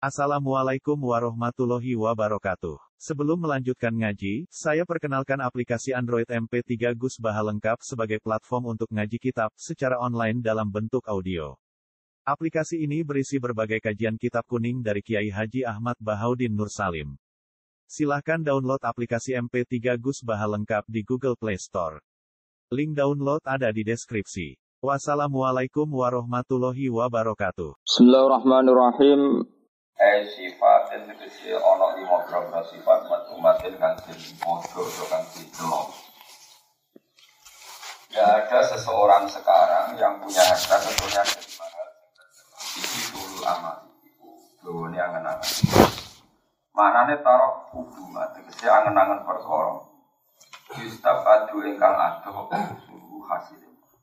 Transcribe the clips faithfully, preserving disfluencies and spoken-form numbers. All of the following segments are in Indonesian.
Assalamualaikum warahmatullahi wabarakatuh. Sebelum melanjutkan ngaji, saya perkenalkan aplikasi Android M P tiga Gus Baha lengkap sebagai platform untuk ngaji kitab secara online dalam bentuk audio. Aplikasi ini berisi berbagai kajian kitab kuning dari Kiai Haji Ahmad Bahaudin Nur Salim. Silahkan download aplikasi M P tiga Gus Baha lengkap di Google Play Store. Link download ada di deskripsi. Wassalamualaikum warahmatullahi wabarakatuh. Bismillahirrahmanirrahim. Eh sifatin tegese ana lima beberapa sifat matumatin kang sing padha kang didelok. Ya ada seseorang sekarang yang punya harta tentunya dari mahal iki dulu amal iku dene angen-angen. Manane tarok hubungan tegese angen-angen perkara. Yustab adu ingkang adoh suhu hasil.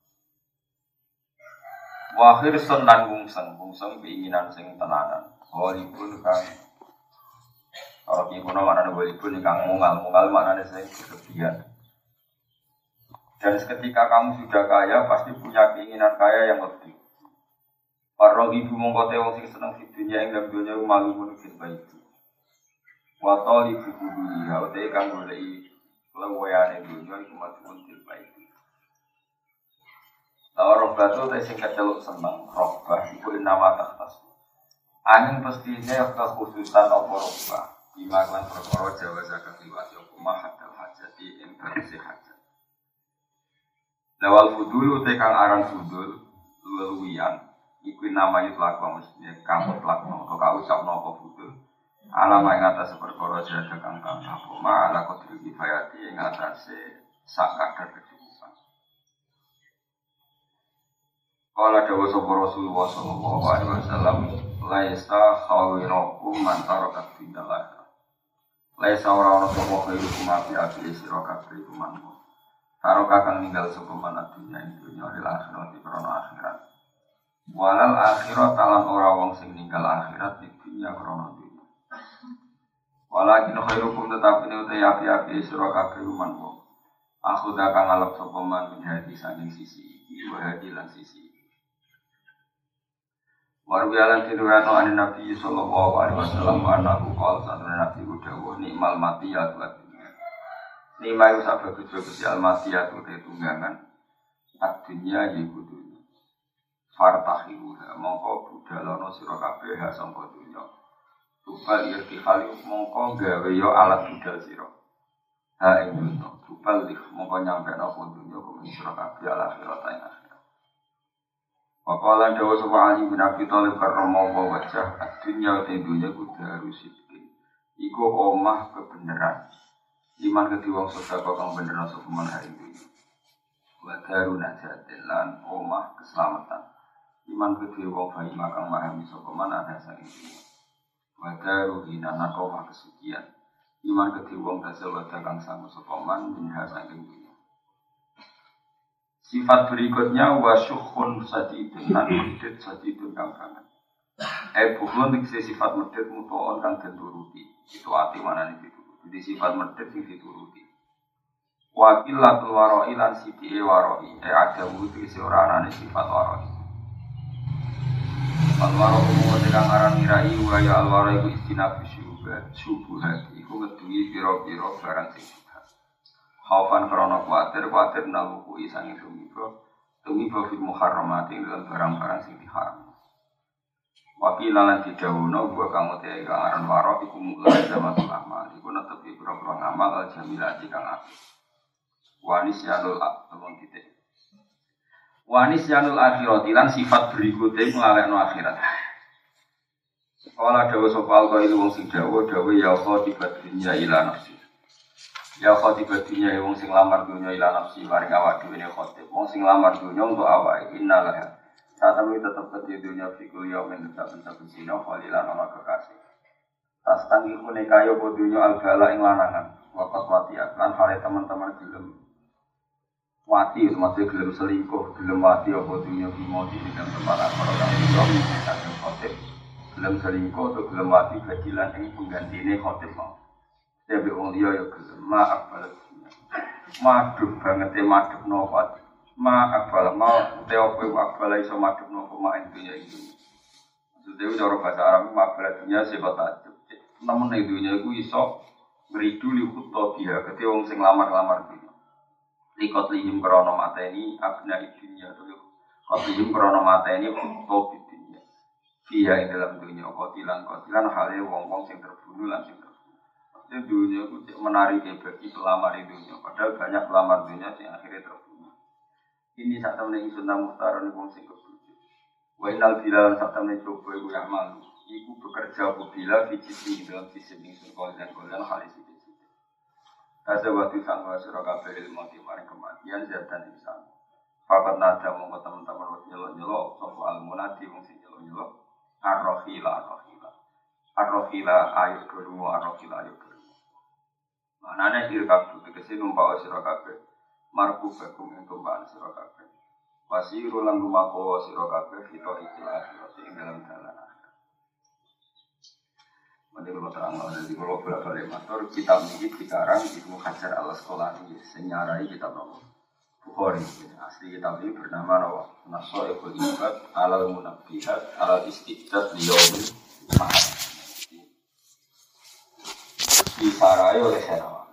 Wahir sunan bungseng, bungseng keinginan sing tenanan. Walipun kang kalau ibu nama mana walipun kang mungal mungal mana sing berlebihan. Dan ketika kamu sudah kaya pasti punya keinginan kaya yang lebih. Para ibu mongkote wong sing seneng di dunia ing dalam dunia malu menufit baik. Wa ibu kudu ya utek kang goleki lewayane dunia iku macam baik. Lawa robbah itu sing keceluk seneng, robbah iku nama takhtas. Angin pastinya kekhususan apa robbah. Ima klan perkara jawa zakat liwat apa mahadal hajati ing bersih hajat. Lawal fudul te kang aran fudul luwian iku nama itu laku mestinya kamu lakno atau kau ucapno apa fudul. Alama ing atas perkara jaga kang kang apa ma ala qadri kifayati ing atase sak kadar kecukupan. Qala dawu sapa Rasulullah sallallahu alaihi wasallam laisa khawirakum man taraka bidalah. Laisa ora ana sapa khairukum api api sira kabeh kuman. Taraka kang ninggal sapa man dunya ing dunya lil akhirat krana akhirat. Walal akhirat lan ora wong sing ninggal akhirat di dunya krana dunya. Walakin khairukum tetapi uta api api sira kabeh kuman. Aku dak kang ngalap sapa man minhadi saking sisi iki wa hadi lan sisi Warwialan tiruano an Nabi sallallahu alaihi wasallam anahu qala sadana Nabi udawa nikmal matiyat wa dunya. Nikmal sak bagus-bagus al matiyat uta tunggangan adunya iku dunya. Fartahiru mongko budalono sira kabeh ha sangka dunya. Tupal irtihali mongko gawe yo alat budal sira. Ha ing dunya. Tupal dik mongko nyampe napa dunya kok sira kabeh ala akhirat ing akhirat. Waqalan dawa sapa Ali bin Abi Thalib karramallahu wajhah dunya te dunya kudu harus iki. Iku omah kebenaran. Iman kedhi wong sedekah kang bener sapa man hari iki. Wa daru najatin lan omah keselamatan. Iman kedhi wong bayi kang memahami sapa man ada saking iki. Wa daru hinan omah kesucian. Iman kedhi wong tasawuf kang sanggup sapa man minha saking iki. Sifat berikutnya wasyukhun sadidun lan medhit sadidun kang banget. Eh bukhun iki sifat medhit mutoon kang dituruti. Itu ati manane dituruti. Jadi sifat medhit sing dituruti. Waqilatul wara'i lan sithike wara'i. Eh ada wudu isi ora anane sifat wara'i. Al-wara'u wa kang aran mirai wa ya al-wara'u istinaf syubhat syubhat iku ngeduwi pira-pira barang sing Khaufan karena khawatir, khawatir naluku isangi tumiba Tumiba fil muharramati dengan barang-barang sing diharam Wakilalan didawuno Gua kamu tiai kangaran warok Iku mulai zaman ulama Iku netepi pura-pura ngamal al-jamilati kang akhir Wanis yanul temun titik Wanis yanul akhiratilan sifat berikutnya Melalekno akhirat Kala dawa sopal kau ilu wong sing dawa Dawa ya khotibah dunya ila nafsi Ya khotibah dunya wong sing lamar dunya ila nafsi maring awak dhewe ne khotib. Wong sing lamar dunya untuk awak innalah. Saat itu tetap ke dunya fikul yaum tetap tetap dina khalilan ana kekasih. Tas tangi kune kaya dunya al-bala ing lanangan. Waqat watiat lan hale teman-teman gelem wati maksud gelem selingkuh, gelem wati apa dunya bimodi ing tempat para kang iso ing khotib. Gelem selingkuh atau gelem wati badilan ing penggantine khotib mau. Tapi orang dia ya gelem maaf balas. Madhep banget e madhep napa. Maaf balas mau te opo akbala iso madhep napa mak dunya iki. Sudah cara bahasa Arab mabala dunia sebab takjub. Namun ning dunia iku iso ngridu li khutto biha kete wong sing lamar-lamar dunya. Likot lihim krana mateni abna dunya to. Kotilum krana mateni khutto dunya. Biha ing dalam dunya kotilan kotilan hale wong-wong sing terbunuh lan sing terbunuh. Maksudnya dunia itu menarik bagi pelamar dunia. Padahal banyak pelamar dunia yang akhirnya terbunuh. Ini saat temen ingsun nang muhtaron wong sing kebunuh. Wa inal bilal saat temen coba iku ya malu. Iku bekerja bila fijiti dalam sisi ingsun kalian kalian halis itu. Kasa waktu sangwa surah kabeh ilmu maring kematian zatan insan. Fakat nada mongko teman-teman nyelok-nyelok sapa al-munadi wong sing nyelok-nyelok ar-rahila ar-rahila. Ar-rahila ayat kelima ar-rahila ayat kelima. Manane dirkab tegese numpak sira kabeh. Marku bekum ing tumpakan sira kabeh. Wasiru lan lumako sira kabeh fito ikhlas ing dalam dalan. Menurut terang dari kalau bolak-balik matur kitab ini dikarang Ibnu Hajar al-Asqalani senyarai kitab nomor Bukhari asli kitab ini bernama Nawa Nasoibul Ibad alal Munabbihat alal Istiqdat Liyaumil Mahad disarai oleh Senawa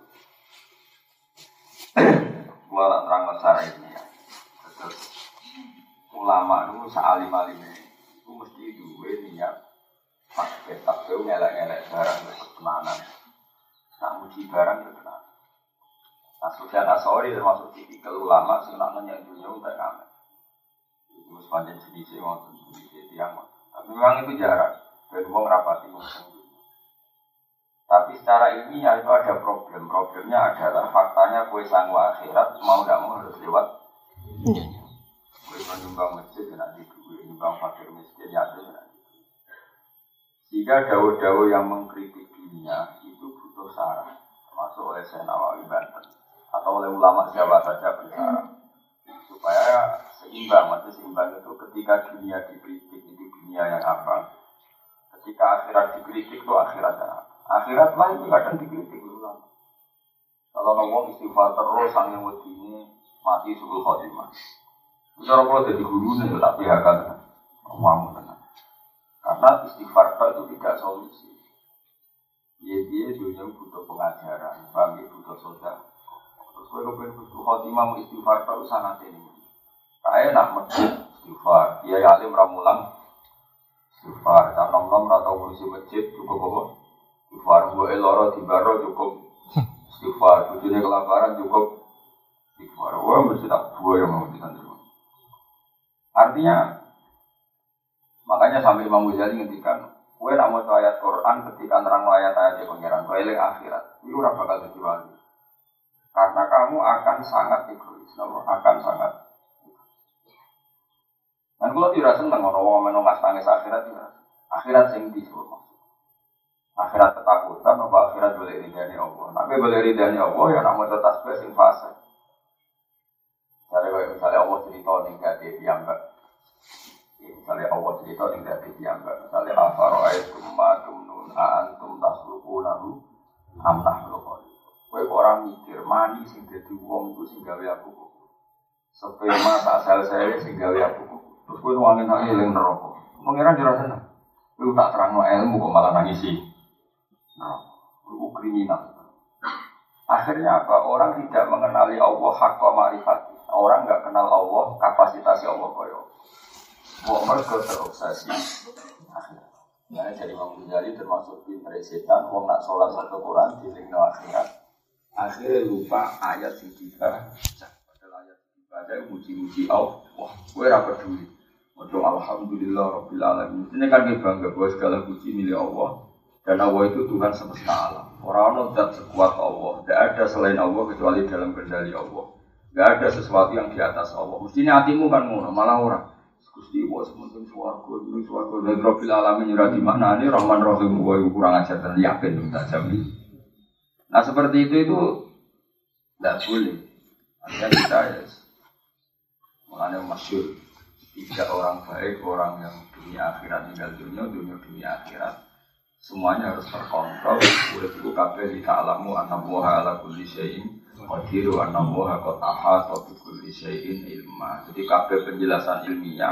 gua terang masalah ini ya terus ulama itu sealim-alimnya itu mesti dua niat pakai tak tahu ngelak-ngelak barang berkenanan, nak muji barang berkenanan. Nah, Sufyan Ats-Tsauri termasuk tipikal ulama sebenarnya yang dunia udah kami. Itu sepanjang jenis waktu jenis tiang. Tapi memang itu jarang. Dan uang rapati musim dunia. Tapi secara ini ya itu ada problem. Problemnya adalah faktanya kue sangwa akhirat mau tidak mau harus lewat. Kue menyumbang masjid nanti kue menyumbang fakir miskin ya itu nanti. Jika dawa-dawa yang mengkritik dunia itu butuh saran, termasuk oleh Syekh Nawawi Banten atau oleh ulama Jawa saja bersyarat supaya seimbang. Maksudnya seimbang itu ketika dunia dikritik itu dunia yang apa, ketika akhirat dikritik itu akhirat yang apa. Akhirat lah itu kadang dikritik ulama. Kalau ngomong istighfar terus sang yang ini mati subuh khotimah. Cara kalau jadi guru nih tapi akan ngomong tenang. Karena istighfar itu tidak solusi. Dia-dia dunia butuh pengajaran, bagi butuh sosial. Terus kalau butuh khotimah mau istighfar itu sangat ini. Kayak nak masjid istighfar, dia alim ramulang istighfar. Kan nom-nom atau ngurusi masjid cukup apa? Istighfar. Gue eloro di baro cukup istighfar. Tujuannya kelaparan cukup istighfar. Wah mesti tak buah yang mau disandung. Artinya makanya sampai Imam Ghazali ngendikan, kowe nak maca ayat Quran ketika nerang ayat-ayat pengiran, kowe eling akhirat, itu ora bakal dadi wali. Karena kamu akan sangat egois, akan sangat. Dan kalau tidak seneng orang orang menunggas tangis akhirat, tidak. Akhirat sing disuruh. Akhirat ketakutan, apa akhirat boleh ridani Allah. Tapi boleh ridani Allah, ya nak maca tasbih sing fase. Misalnya misalnya Allah cerita ning gade piyambak. Misalnya Allah cerita yang dari dianggap misalnya afaro'aitum ma'atum nun a'antum taslukunahu amnah lukol kowe orang mikir mani sing dadi wong itu sing gawe aku sperma tak sel-sel sing gawe aku terus kowe nuangin nang eling neraka pengiran jero seneng kowe tak terangno ilmu kok malah nangisi nah itu kriminal. Akhirnya apa? Orang tidak mengenali Allah haqqa ma'rifati. Orang enggak kenal Allah kapasitas Allah koyo Wah mereka terobsesi akhirat. Nah, jadi Imam Ghazali termasuk pinter setan. Wong nak sholat satu Quran di lingkungan akhirat. Akhirnya lupa ayat yang dibaca. Padahal ayat yang dibaca muji-muji Allah. Wah, gue rapat dulu. Waduh, alhamdulillah rabbil alamin. Ini kan kita bangga bahwa segala puji milik Allah. Dan Allah itu Tuhan semesta alam. Orang-orang tidak sekuat Allah. Tidak ada selain Allah kecuali dalam kendali Allah. Tidak ada sesuatu yang di atas Allah. Mestinya hatimu kan ngono, malah orang. Gusti wa semunten swarga iki swarga lan Rabbil alamin ora dimaknani Rahman Rahim wa kurang ajar dan yakin tak jamin. Nah seperti itu itu tidak boleh. Artinya kita ya mengenai masyhur tiga orang baik, orang yang dunia akhirat tinggal dunia, dunia dunia akhirat semuanya harus terkontrol. Udah cukup kabeh dita'lamu annallaha ala kulli syai'in qadiru annallaha qad ahata bi kulli syai'in ilma. Jadi kabeh penjelasan ilmiah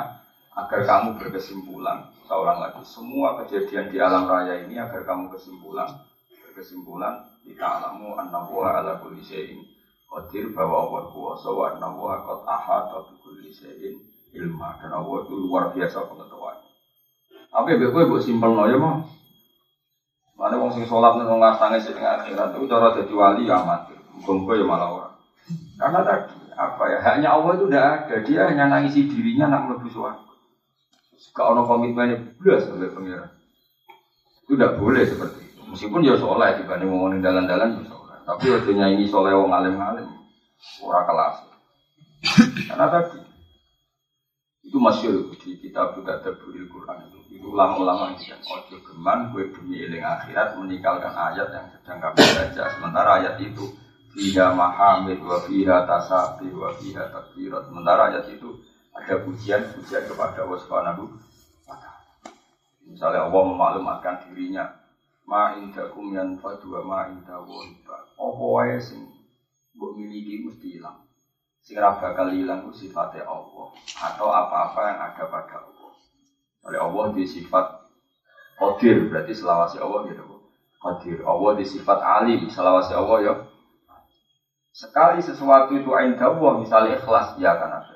agar kamu berkesimpulan. Seorang lagi, semua kejadian di alam raya ini agar kamu kesimpulan, berkesimpulan kita alamu annahu ala kulli syai'in qadir, bahwa Allah kuwasa wa annahu qad ahata bi kulli syai'in ilma, dan Allah itu luar biasa pengetahuan. Apa ya kowe mbok simpelno ya mah. Mana wong sing salat nang ngasange sing akhirat itu cara dadi wali amatir. Muga-muga ya malah ora. Karena tadi apa ya, haknya Allah itu tidak ada, dia hanya nangisi dirinya nak mlebu swarga. Kalau komitmennya belas sampai pengiran, itu tidak boleh seperti itu. Meskipun dia soleh dibanding ngomongin dalan-dalan, tapi waktunya ini soleh wong alim-alim, ora kelas. Karena tadi itu masyhur di kitab Tadabbur Al-Qur'an itu, itu ulama-ulama yang ojo geman, gue demi eling akhirat meninggalkan ayat yang sedang kamu baca. Sementara ayat itu fiha mahamid wa fiha tasabih wa fiha takbirat. Sementara ayat itu ada pujian-pujian kepada Allah Subhanahu wa taala. Misalnya Allah memaklumatkan dirinya, ma indakum yanfadu wa ma indahu ibad. Apa wae sing mbok miliki mesti hilang. Sing ora bakal hilang ku sifate Allah atau apa-apa yang ada pada Allah. Oleh Allah di sifat Qadir, berarti selawase Allah gitu. Qadir. Allah di sifat Alim, selawase Allah ya. Sekali sesuatu itu indah, misalnya ikhlas, ya kan ada.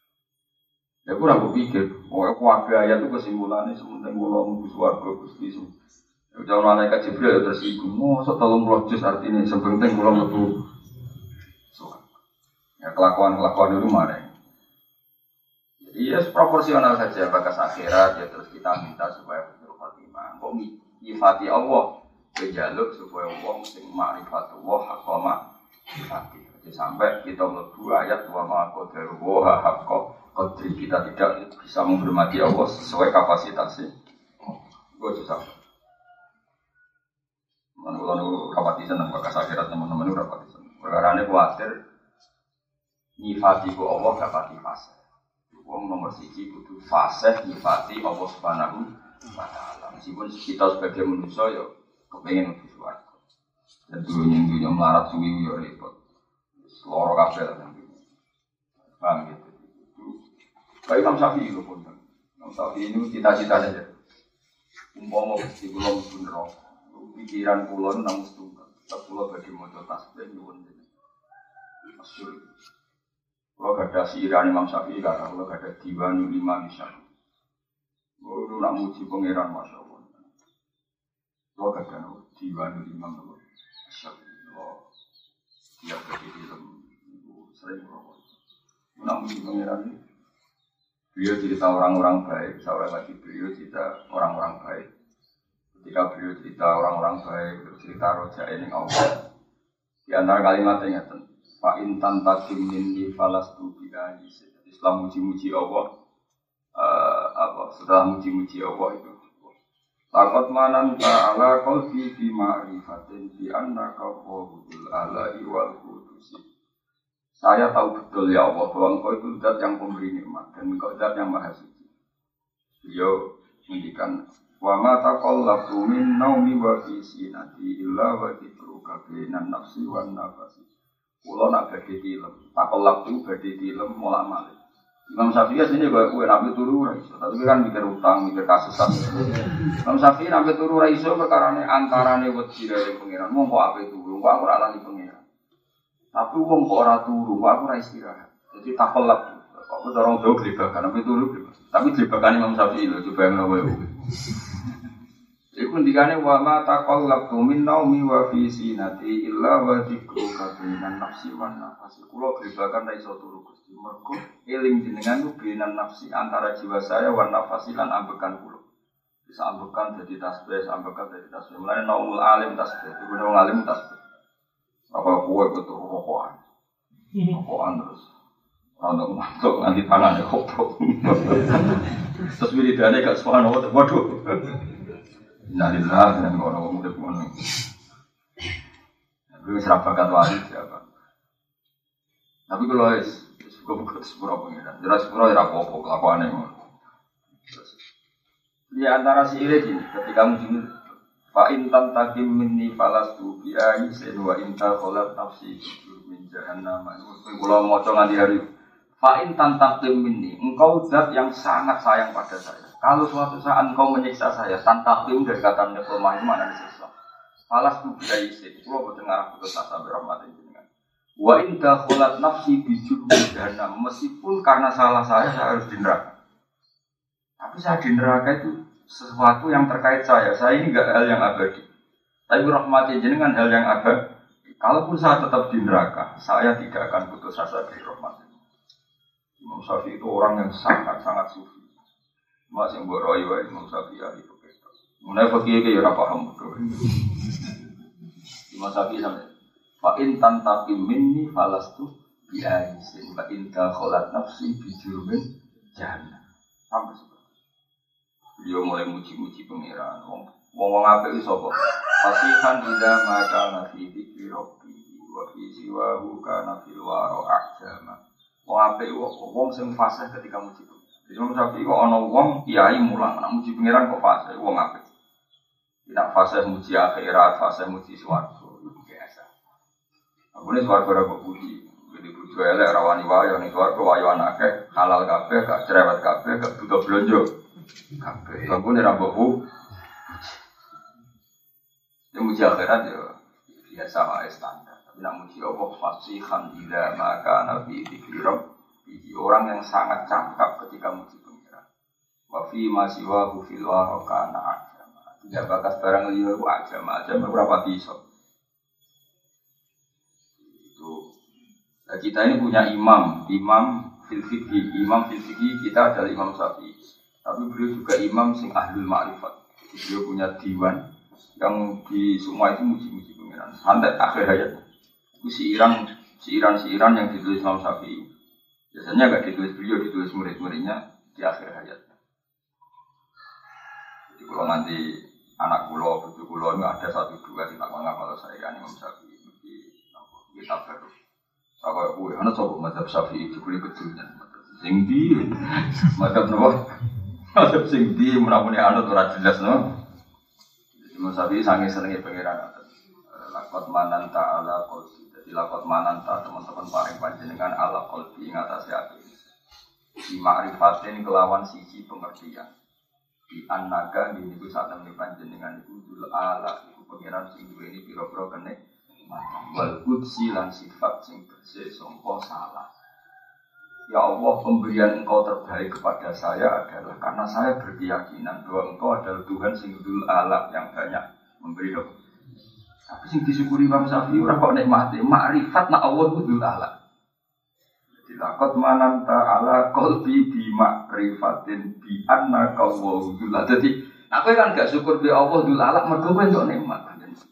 Ya aku ragu pikir, pokoknya kuaga ayat itu kesimpulannya sementing kalau nunggu suarga Gusti itu. Jangan malaikat Jibril ya tersinggung, oh setelung lojus artinya sepenting kalau nunggu suarga. Ya kelakuan-kelakuan itu mana? Jadi ya proporsional saja bakas akhirat, ya terus kita minta supaya betul Fatimah. Kok nyifati Allah, kejaluk supaya Allah mesti ma'rifatullah hakoma hati. Sampai kita melebu ayat wa ma'akodaru wa haqqa qadri, kita tidak bisa menghormati Allah sesuai kapasitasnya. Gue susah. Menurut rapati senang bakas akhirat teman-teman itu rapati senang. Karena ini khawatir nyifati ku Allah gak pati fase. Wong nomor siji kudu fase nyifati Allah Subhanahu wa taala. Meskipun kita sebagai manusia ya kepengin mlebu swarga. Dan dunia-dunia melarat suwi yo repot. Loro kabeh lah. Paham gitu. Baik Imam Syafi'i itu pun. Imam Syafi'i ini cita-cita saja. Umpama Gusti kula mlebu neraka. Pikiran kula nang setunggal. Tak kula badhe maca tasbih nyuwun jenengan. Masyhur. Kula gadah siran Imam Syafi'i karo kula gadah diwan lima misal. Kula nak muji pangeran masyaallah. Kula gadah diwan lima kula. Masyaallah. Dia berdiri dalam sering merokok. Nak muji pangeran ini. Beliau cerita orang-orang baik, seorang lagi beliau cerita orang-orang baik. Ketika beliau cerita orang-orang baik, beliau cerita roja ini Allah. Di antara kalimatnya nyata, Pak Intan takim minni falastu bi'ayi. Setelah muji-muji Allah, uh, apa? Setelah muji-muji Allah itu, laqad manan ta'ala qalbi bi ma'rifatin bi annaka qawlul ala'i wal qudusi. Saya tahu betul ya Allah bahwa Engkau itu zat yang pemberi nikmat dan Engkau zat yang maha suci. Beliau mendikan wa ma taqallatu min naumi wa fi sinati illa wa dzikruka bainan nafsi wan nafsi. Kula nak badhe tilem, taqallatu badhe tilem molak-malik. Imam Syafi'i sini kaya kowe nabi turu ra iso, tapi kan mikir utang, mikir kasus-kasus. Imam Syafi'i nabi turu ra iso perkarane antarane wedi dari pengiran. Mongko ape turu, kok aku ora lali pengiran. Tapi wong kok ora turu, kok aku ora istirahat. Jadi takolak. Kok dorong jauh glebakan, tapi turu glebakan. Tapi glebakan Imam Syafi'i lho, coba yang kowe. Iku ndikane wa ma taqallabtu min naumi wa fi sinati illa wa dzikruka bainan nafsi wan nafsi. Kula glebakan ra iso turu Gusti. Mergo eling jenengan ku bainan nafsi antara jiwa saya wan nafsi lan ambekan kula. Bisa ambekan dadi tasbih, ambekan dadi tasbih. Mulane naumul alim tasbih, iku wong alim tasbih. Apa kowe betul rokokan. Rokokan terus. Ana mantuk nganti tangane koprok. Terus wiridane gak subhanallah waduh. Innalillahi dan orang muda pun. Tapi serap bakat wali siapa? Tapi kalau es, suka buka sepura pengiran. Jelas sepura ya apa-apa kelakuannya. Di antara si irit ini, ketika muncul Fa intan takim minni falastu bi'ayi sen wa inta kholat nafsi min jahannam. Kalau mau nganti hari Fa'in tantakim minni, engkau zat yang sangat sayang pada saya. Kalau suatu saat engkau menyiksa saya, tantakim dari kata neklemah itu mana disiksa. Falas tu bila isi, kalau betul ngarah putus asa berahmatin jenengan. Wa inda kholat nafsi bijul mudhana, meskipun karena salah saya, saya harus di neraka. Tapi saya di neraka itu sesuatu yang terkait saya. Saya ini enggak hal yang abadi. Tapi rahmatin jenengan hal yang abadi. Kalaupun saya tetap di neraka, saya tidak akan putus asa dari rahmatin. Imam Syafi'i itu orang yang sangat-sangat sufi. Masih buat roy wa Imam Syafi'i ahli fikih. Mulai fakir ke ya paham betul. Imam Syafi'i sampai fa in tantapi minni falastu bi aisin wa in dakhalat nafsi bi jurmin jahannam. Sampai seperti beliau mulai muji-muji pangeran. Wong wong apik iso kok. Fasihan ila ma kana fi dzikri rabbi wa fi siwahu kana fil wara ahjama. Wong apik wong sing fasih ketika muji pangeran. Imam Syafi'i kok ana wong kiai mulang nek muji pangeran kok fasih wong apik. Tidak fase muji akhirat, fase muji swarga itu biasa. Aku ini swarga ora kok puji. Jadi puji elek rawani wayo ning swarga wayo anake halal kabeh, gak cerewet kabeh, gak butuh blonjo. Kabeh. Aku ini ra mbok ya muji akhirat ya biasa wae standar. Tapi nek muji Allah fasihan ila maka nabi dikira orang yang sangat cakap ketika muji pengiran. Wa fi ma siwa fil wa kana tidak bakas barang liya aja, aja beberapa pisau. Itu. Nah, kita ini punya imam, imam fil fikih, imam fil fikih kita adalah Imam Syafi'i. Tapi beliau juga imam sing ahlul ma'rifat. Beliau punya diwan yang di semua itu muji-muji pengiran. Sampai akhir hayat. Itu siiran, siiran, siiran yang ditulis Imam Syafi'i. Biasanya enggak ditulis beliau, ditulis murid-muridnya di akhir hayat. Jadi kalau nanti anak pulau, bujuk pulau, ada satu dua sih tak menganggap kalau saya kan Imam Syafi'i di kitab baru. Saya kue, anak coba mazhab Syafi'i itu kulit kecilnya, sing di, mazhab nopo, mazhab sing di, menapuni anak tuh rajin jelas no. Imam Syafi'i sangat senengnya pengiran. Lakot manan ta ala kolbi, jadi lakot manan ta teman-teman paling panjenengan ala kolbi ingatasi hati. Di ma'rifatin kelawan sisi pengertian. Di an-naga di niku saat temen panjenengan iku dul ala iku pangeran sing duweni pira-pira kenek wal qudsi lan sifat sing bersih sangka salah. Ya Allah, pemberian Engkau terbaik kepada saya adalah karena saya berkeyakinan bahwa Engkau adalah Tuhan sing dul ala yang banyak memberi dong. Tapi sing disyukuri Imam Syafi'i ora kok nikmate makrifat nak Allah ku dul ala. Dilakot manan ta'ala qalbi bi ma'rifatin bi anna qawwahu dul. Jadi aku kan gak syukur be Allah dul alak mergo kowe entuk nikmat.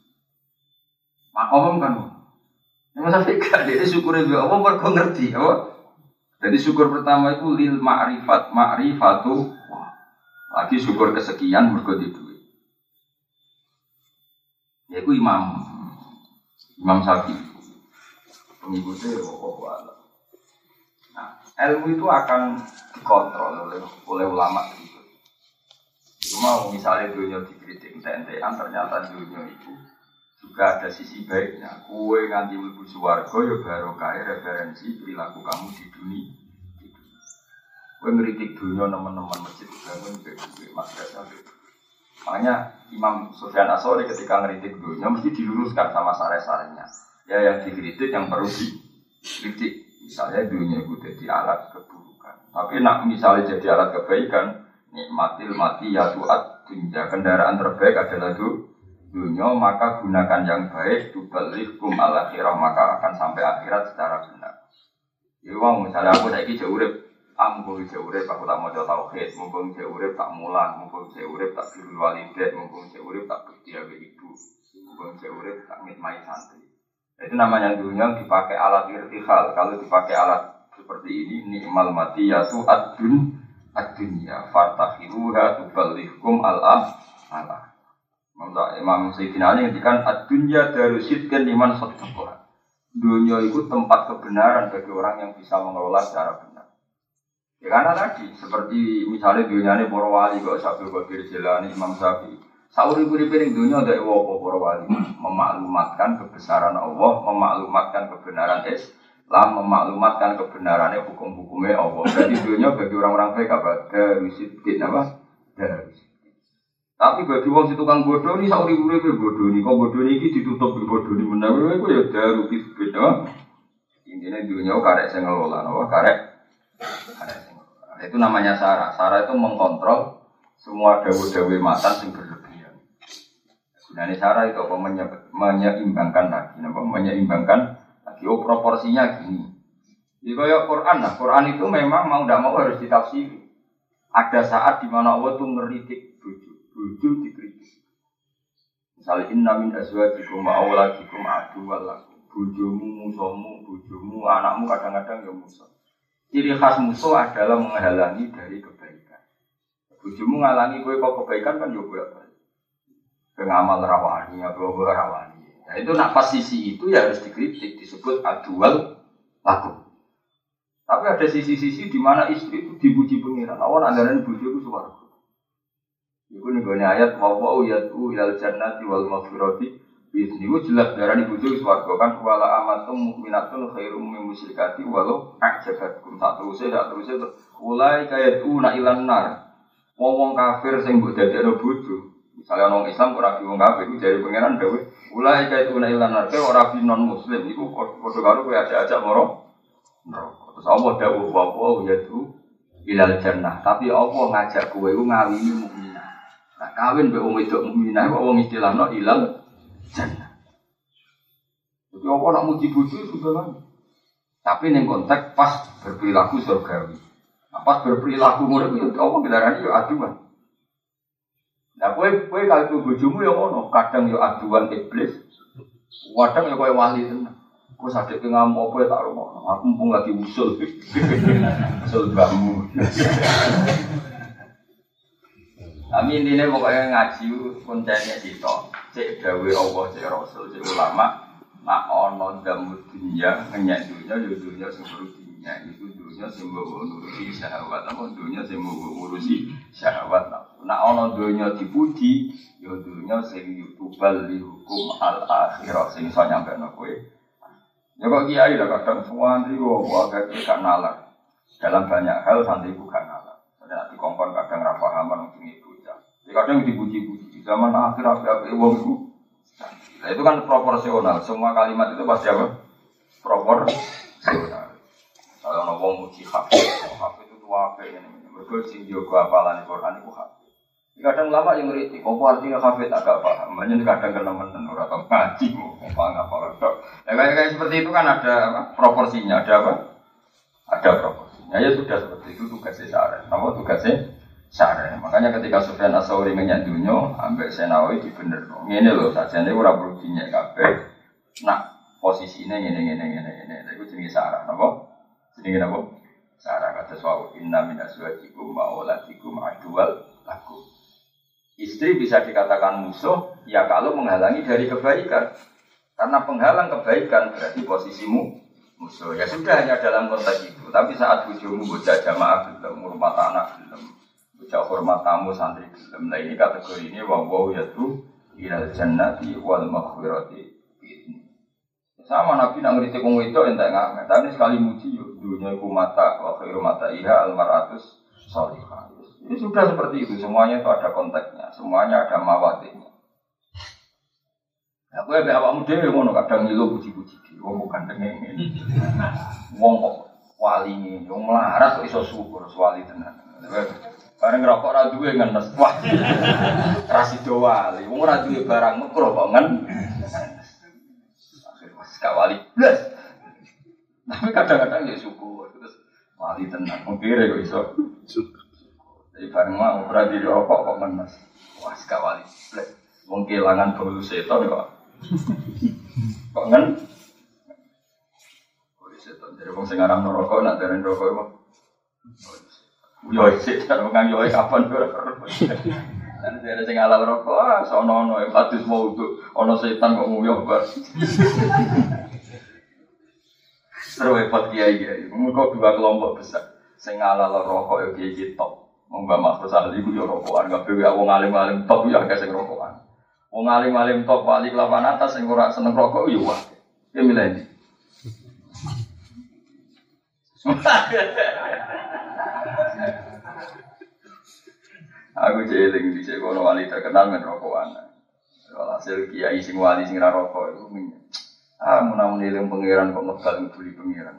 Makom kan. Nek sampe gak dhewe syukur be Allah mergo ngerti apa? Jadi syukur pertama itu lil ma'rifat, ma'rifatu. Lagi syukur kesekian mergo di duit. Yaiku Imam Imam Syafi'i. Pengikutnya pokok Allah. Nah, ilmu itu akan dikontrol oleh oleh ulama itu. Cuma misalnya dunia dikritik ente-entean ternyata dunia itu juga ada sisi baiknya. Kue nganti mlebu swarga ya barokah referensi perilaku kamu di dunia. Kue ngritik dunia teman-teman masjid bangun bebek madrasah. Makanya Imam Sufyan Ats-Tsauri ketika ngritik dunia mesti diluruskan sama sare-sarenya. Ya yang dikritik yang perlu dikritik. Misalnya dunia itu jadi alat keburukan. Tapi nak misalnya jadi alat kebaikan, nikmatil mati ya tuat dunia kendaraan terbaik adalah du, dunia maka gunakan yang baik tubalikum al akhirah maka akan sampai akhirat secara benar. Jadi wong misalnya aku saiki jauh urip, ah mumpung jauh urip aku tak maca tauhid, mumpung jauh urip tak mulang, mumpung jauh urip tak birrul walidain, mumpung jauh urip tak bekti abe ibu, mumpung jauh urip tak ngitmai santri. Itu namanya dunia dipakai alat irtihal. Kalau dipakai alat seperti ini, ni'mal matiyatu ad-dun ad-dunya fartakhiruha tuballighkum al-ah ala. Imam Sayyidina Ali ngendikan ad-dunya darusidkan liman sadaqah. Dunia itu tempat kebenaran bagi orang yang bisa mengelola secara benar. Ya karena tadi seperti misalnya dunia ini para wali kok Syaikhul Qadir Jilani, Imam Syafi'i. Sauri-uri piring dunia dari Allah para wali memaklumatkan kebesaran Allah, memaklumatkan kebenaran es lah memaklumatkan kebenarannya hukum-hukumnya Allah. Jadi dunia bagi orang-orang baik apa? Darusidin apa? Darusidin. Tapi bagi wong si tukang bodoh ni sauri urip bodoh ni. Kok bodoh ni iki ditutup bodoh ni menawa iku ya darusidin apa? Intinya dunia karek sing ngelola, apa? Karek. Karek sing ngelola. Itu namanya Sarah. Sarah itu mengkontrol semua dawe-dawe matan sing berlebihan. Gunane Sarah itu apa? Menyeimbangkan lagi, apa? Menyeimbangkan lagi. Oh proporsinya gini. Jadi kayak Quran lah. Quran itu memang mau tidak mau harus ditafsiri. Ada saat di mana Allah itu ngeritik bojo, bojo dikritik. Misalnya inna min azwajikum wa auladikum aduwwal lakum. Bojomu, musuhmu, bojomu, anakmu kadang-kadang ya musuh. Ciri khas musuh adalah menghalangi dari kebaikan. Bojomu ngalangi kowe kok kebaikan kan yo kowe apa? Pengamal rawani apa rawani. Nah itu nak pas sisi itu ya harus dikritik, disebut adual lakum. Tapi ada sisi-sisi di mana istri itu dipuji pengiran. Awan andaran bojo itu swarga. Iku nenggone ayat wa wa yatu ilal jannati wal maghfirati biizni. Iku jelas darani bojo swarga kan wala amatum mukminatun khairum min musyrikati walau ajabatkum. Tak teruse tak teruse ulai kayatuna ilan nar. Wong kafir sing mbok dadekno bojo. Misalnya orang Islam ora di wong kafir iku jare pangeran dawuh ulai kayatuna ilan nar. Kowe ora di non muslim iku padha karo kowe ajak-ajak moro neraka. Terus Allah dawuh wa wa yatu ilal jannah. Tapi Allah ngajak kowe iku ngawini mukminah. Nah kawin mbek wong wedok mukminah kok wong istilahno ilal jannah. Jadi apa nak muji bojo sudah lah. Tapi ning konteks pas berperilaku surgawi. Nah, pas berperilaku ngono itu apa kendaraan yo aduan. Nah kowe kowe kalau bojomu yo ngono, kadang yo aduan iblis. Kadang yo koyo wali tenan. Kok sadek ngamuk apa tak romo. Aku mumpung lagi usul. Usul bambu. Kami intinya pokoknya ngaji kontennya sitok. Cek dawe Allah, cek Rasul, cek ulama. Nak ono damu dunia, ngenyak dunia, yo dunia sing dunia itu dunia sing mbok ngurusi syahwat, apa dunia sing mbok ngurusi syahwat. Nak ono dunia dipuji, yo dunia sing yutubal li hukum al akhirah sing iso nyampekno kowe. Ya kok kiai lah kadang semua santri kok agak gak nalar. Dalam banyak hal santri ku gak nalar. Ada dikongkon kadang ra pahaman mungkin itu. Kadang dipuji-puji. Zaman akhir akhir wong itu. Nah, itu kan proporsional. Semua kalimat itu pasti apa? Proporsional. Kalau orang wong muji hafid, hafid itu apa ini? Mereka sing jago hafalan Quran itu hafid. Kadang lama yang ngerti, kok artinya hafid agak paham. Banyak kadang kena-menen orang atau ngaji, mau paham apa orang. Ya kayak seperti itu kan ada apa? Proporsinya, ada apa? Ada proporsinya. Ya sudah seperti itu tugasnya Sarah. Nama tugasnya Sarah. Makanya ketika Sufyan Ats-Tsauri ngenyak dunya, ambek Senawi dibenerno. Ngene lho, sajane ora perlu dinyak kabeh. Nah, posisine ngene-ngene ngene-ngene. Iku jenenge Sarah, napa? Jenenge napa? Sarah kata sawu inna min azwajikum wa auladikum aduwal lakum. Istri bisa dikatakan musuh ya kalau menghalangi dari kebaikan. Karena penghalang kebaikan berarti posisimu musuh. Ya sudah hanya dalam konteks itu. Tapi saat bojomu bocah jamaah gelem, hormat anak gelem, bocah hormat tamu santri gelem. Nah ini kategori ini wa wa yatu ilal jannati wal maghfirati. Sama Nabi nak ngritik wong wedok entek ngamet. Tapi sekali muji yo dunya iku mata wa khairu mata iha al maratus shalihah. Ini sudah seperti itu, semuanya itu ada konteksnya, semuanya ada mawadihnya. Aku ya awak muda yang ngono kadang ngilu puji-puji di, wong bukan dengan ini. Wong kok wali ini, wong melarat kok iso syukur wali tenan. Bareng ngerokok ra duwe ngenes. Wah. Rasido wali, wong ora duwe barang mekro kok ngen. Akhir wis gak wali blas. Tapi kadang-kadang ya syukur terus wali tenan. Mungkin kok iso syukur. Jadi bareng mau berarti di rokok kok menes. Wah, sekali wali. Wong kelangan bolu seton kok. Kok ngen? Bolu seton. Jadi wong sing aran rokok nak dereng rokok iku. Yo seton wong yo kapan ora ora. Lan dere sing halal rokok ah sono-ono e hadis mau untuk ana setan kok nguyuh bar. Terus repot kiai-kiai. Mengko dua kelompok besar. Sing halal rokok yo kiai top. Mbak Mas Sali itu ya rokokan, nggak boleh wong alim-alim top ya kayak sing rokokan. Wong alim-alim top wali kelapan atas sing ora seneng rokok ya wah. Ya milih. Aku jeling di sekolah wali terkenal men rokokan. Walhasil kiai sing wali sing ra rokok iku min. Ah menawa eling pangeran kok megal ngibuli pangeran.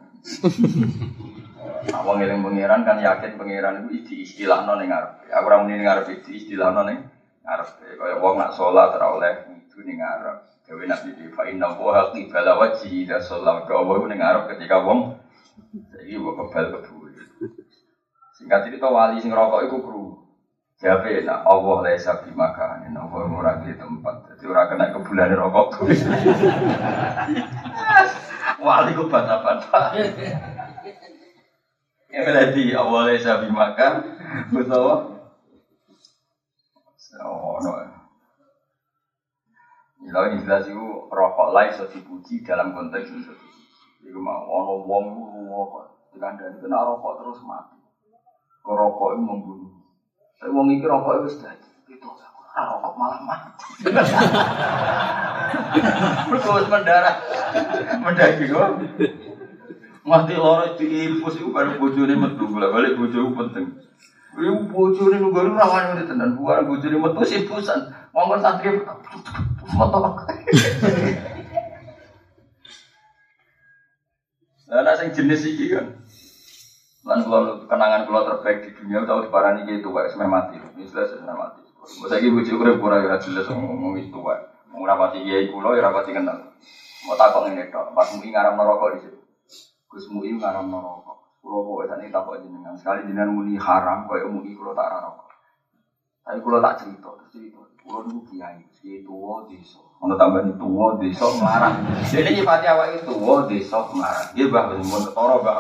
Awang eling pangeran kan yakin pangeran iku diistilahno ning ngarep. Aku ora muni ning ngarep diistilahno ning ngarep. Kaya wong nak salat ora oleh itu ning ngarep. Dewe Nabi di fa inna wa qibala wajhi da salat ka wa ning ngarep ketika wong saiki kok kebal kebu. Singkat cerita wali sing rokok iku kru. Jabe nak Allah laisa bimakan, Allah ora di tempat. Jadi ora kena kebulane rokok. Wali ku bata-bata. Ya berarti Allah laisa bimakan, betul. Oh no. Kalau ini jelas itu rokok lain so dipuji dalam konteks itu. Jadi mau ono wong rokok, dikandani kena rokok terus mati. Rokok itu membunuh. Tapi wong iki rokok wis dadi. Itu rokok malah mati. Terus mendarah. Mendaki kok. Mati loro diinfus iku baru bojone metu, balik bojoku penting. Iku bojone nunggu rawan tenan, bukan bojone metu simpusan. Wong santri metu. Lah nek sing jenis iki kan lan kalau kenangan kalau terbaik di dunia tahu di parani gitu wae semai mati, misalnya semai mati. Masa gitu bujuk udah pura ya jelas ngomong itu wae. Mau rapati kiai kulo ya rapati kenal. Mau takut ini dok, pas mui ngaram merokok di situ. Gus mui ngaram merokok. Kulo bawa saat ini takut jenengan sekali jenengan muni haram, kau mui kulo tak rokok. Tapi kulo tak cerita, cerita. Kulo dulu kiai, kiai tua desa. Kalau tambah itu tua desa melarang. Jadi nyipati awak itu tua desa melarang. Dia bah mau ketoro bah.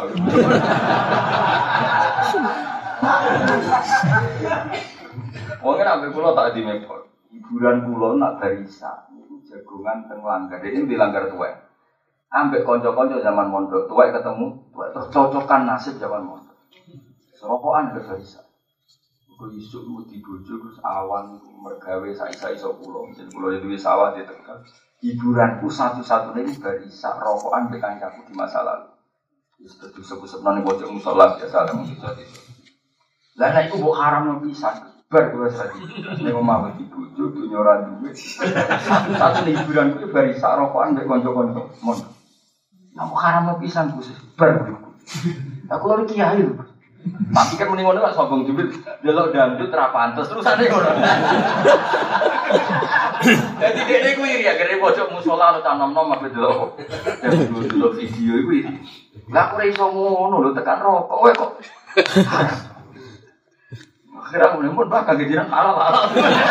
Pokoknya nabi kulo tak di mepot. Hiburan kulo nak barisa. Jagungan teng langgar. Ini dilanggar tua. Ambek konco-konco zaman mondok tua ketemu. Tua terus cocokan nasib zaman mondok. Serokokan ke barisa. Kau isuk mau dibojo terus awan mergawe sai-sai so pulau, jadi pulau itu sawah di Tegal. Hiburanku satu-satunya ini barisa rokokan dengan aku di masa lalu. Itu sebut-sebut nanti bocor musola biasa ada musik itu. Lainnya itu buat haram nabisan, berdua saja. Ini mau dibojo punya orang duit. Satu-satunya hiburanku itu barisa rokokan dengan konco-konco. Mon, aku haram nabisan khusus berdua. Aku lagi kiai loh. Tapi kan mending ngono gak sombong jubit, delok dangdut ra pantes terusane ngono. Dadi dekne ku iri ya gere pojok musala anu tanom-nom ape delok. Delok video iku iri. Lah aku ora iso ngono lho tekan rokok kowe kok. Akhirnya mulai pun bakal kejiran halal-halal.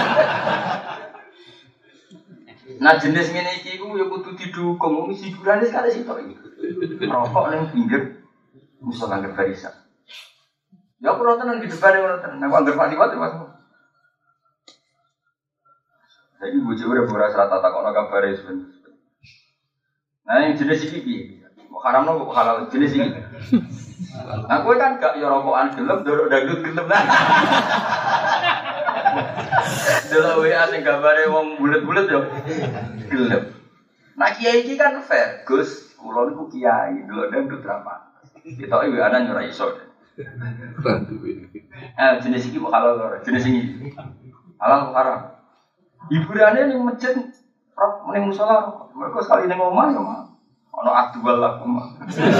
Nah jenis ngene iki ku ya kudu didukung wong hiburane sekali sitok iki. Rokok ning pinggir musala nang barisan. Ya aku nonton di depan yang nonton, aku anggap mati mati mas. Jadi bujuk udah beras rata tak kono kabar itu. Nah yang jenis ini, mau haram no, mau halal jenis ini. Aku kan gak ya rokokan gelem, dorok dangdut gelem lah. Dulu W A sing gambare wong bulet-bulet yo gelem. Nah kiai iki kan fair, Gus, kula niku kiai, dulu dangdut ra pantes. Ketoke W A-an ora iso. Eh jenis ini halal lho, jenis ini halal haram. Hiburannya ning masjid, roh ning musala, mereka sekali ning omah ya mah. Ono adwal lah omah.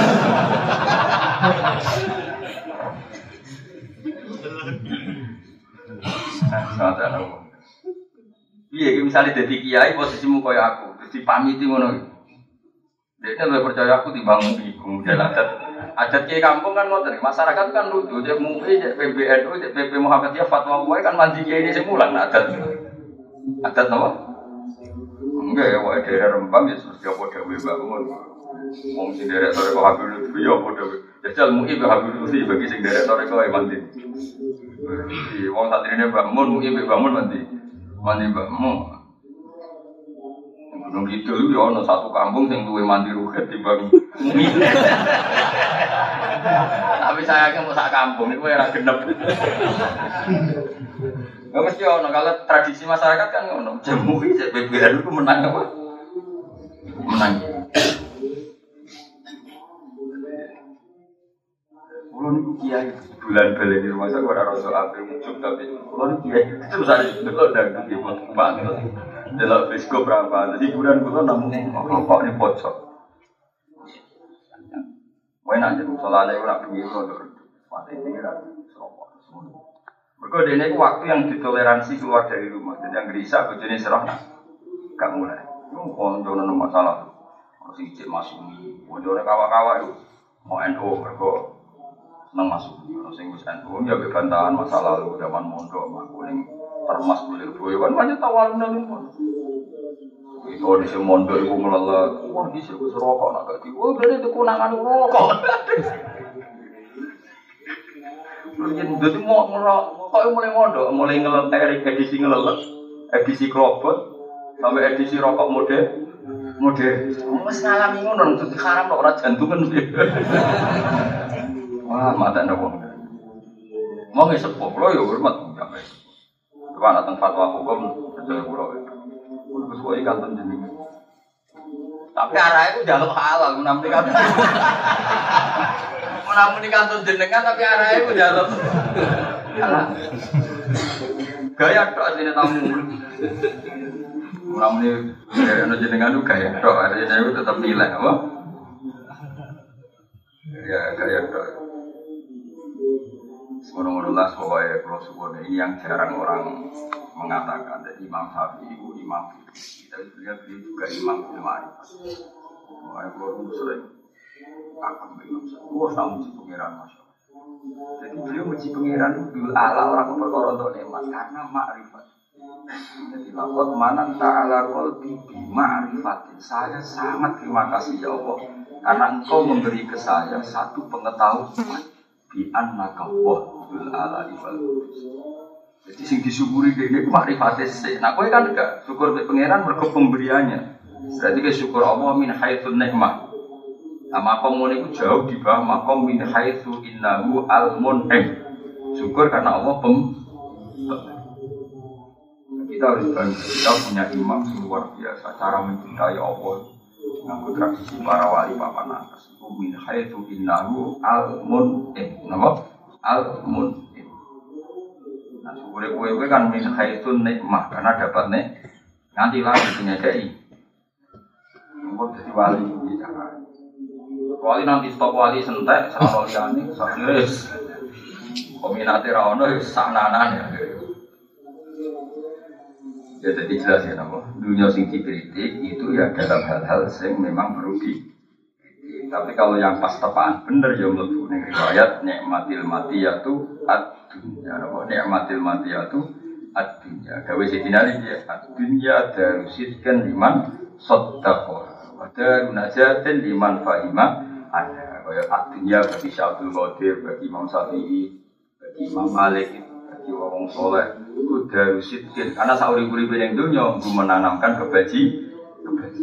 Iya, misalnya jadi kiai posisimu kaya aku, terus dipamiti ngono. Dia kan lebih percaya aku timbang kemudian adat. Adat kiai kampung kan ngoten, masyarakat kan lucu, cek M U I, cek P B N U, cek P P Muhammadiyah, fatwa kuwi kan mandi kiai ini semulan adat. Adat apa? Enggak ya, wae daerah Rembang ya terus dia padha wae bangun. Wong sing derek sore kok Habib Lutfi ya padha wae. Jajal M U I be Habib Lutfi bagi sing derek sore kok mandi. Wong santrine bangun, M U I be bangun mandi. Mandi Mbak Mu. Gunung Kidul ya ana satu kampung sing duwe mandi ruhet timbang M U I. Tapi saya kan mau sak kampung itu ora genep. Enggak mesti ono kalau tradisi masyarakat kan ono. Jamu iki P B N itu menang apa? Menang. Kulo niku kiai bulan balen di rumah saya ora rasa ape muncul tapi kulo niku kiai terus ada delok dangdut di pantes. Delok biskop berapa. Jadi bulan kulo namung rokok ni pojok. Wae nak jadi salane ora pinggir rodok. Pati pikiran rokok semua. Mergo dene iku waktu yang ditoleransi keluar dari rumah. Jadi yang gelisah bojone serah gak mulai. Yo koncono masalah. Ono sing cek masumi, konjone kawak-kawak itu mau N U mergo seneng masuk. Ono sing wis N U ya kebantahan masa lalu zaman mondok aku ning termas kulir boyo kan banyak tawalun nang ngono. Itu di mondok iku melelet. Wah, di sini wis rokok nak gak di. Oh, berarti itu kunangan rokok. Jadi mau ngerokok, kok mulai mondok, mulai ngelet edisi ngelelet, edisi klobot, sampai edisi rokok mode, mode. Mas ngalami ngono, terus haram kok orang jantungan. Wah, mata ndak wong. Mau nggak sepuh, lo ya hormat sampai. Coba datang fatwa hukum, jadi pulau itu. Terus kau ikan jenengan. Tapi arahnya itu jaluk halal, menampi kan. Namun di kantor jenengan tapi arahnya itu jaluk. Gaya tok sini tamu. Namun di kantor jenengan itu gaya tok, artinya itu tetap nilai apa? Ya gaya tok. Semoga-moga supaya kalau suku ini yang jarang orang mengatakan. Jadi Imam Syafi'i itu imam. Kita lihat beliau juga imam ilmu. Makanya kalau sering aku Imam Syafi'i, wah tahu uji pengiran masya Allah. Jadi beliau uji pengiran itu ala orang berkorban untuk nikmat karena makrifat. Jadi lapor mana ta'ala qalbi bi ma'rifatin. Saya sangat terima kasih ya Allah karena Engkau memberi ke saya satu pengetahuan bi annaka wahul ala ibal. Jadi sing disyukuri dene makrifate sik. Nah kowe kan enggak syukur be pangeran mergo pemberiannya. Berarti ke syukur Allah min haitsun nikmah. Nah makom ngene iku jauh di bawah makom min haitsu innahu al-mun'im. Syukur karena Allah pem. Kita harus bangga, kita punya imam luar biasa cara mencintai Allah. Nganggo tradisi para wali papan atas. Iku min haitsu innahu al-mun'im. Napa? Al-mun'im. Nah, syukur kowe kan min haitsun nikmah karena dapat nek nganti lagi nyedai. Engko dadi wali iki cara. Wali nanti stop wali sentek sama liyane sakires. Kominate ra ono ya saknanan ya. Ya jadi jelas ya napa. Dunia sing dikritik itu ya dalam hal-hal yang memang perlu di. Tapi kalau yang pas tepaan bener ya mlebu ning riwayat nikmatil matiyatu ad-dunya. Napa nikmatil matiyatu ad-dunya. Gawe sidina iki ad-dunya darusidkan liman saddaqah. Wa darunajatin liman fahima ada. Kaya ad-dunya bagi Syaikhul Qadir, bagi Imam Syafi'i, bagi Imam Malik, bagi wong saleh. Ku darusidkan karena sauri-uripe ning dunya menanamkan kebaji kebaji.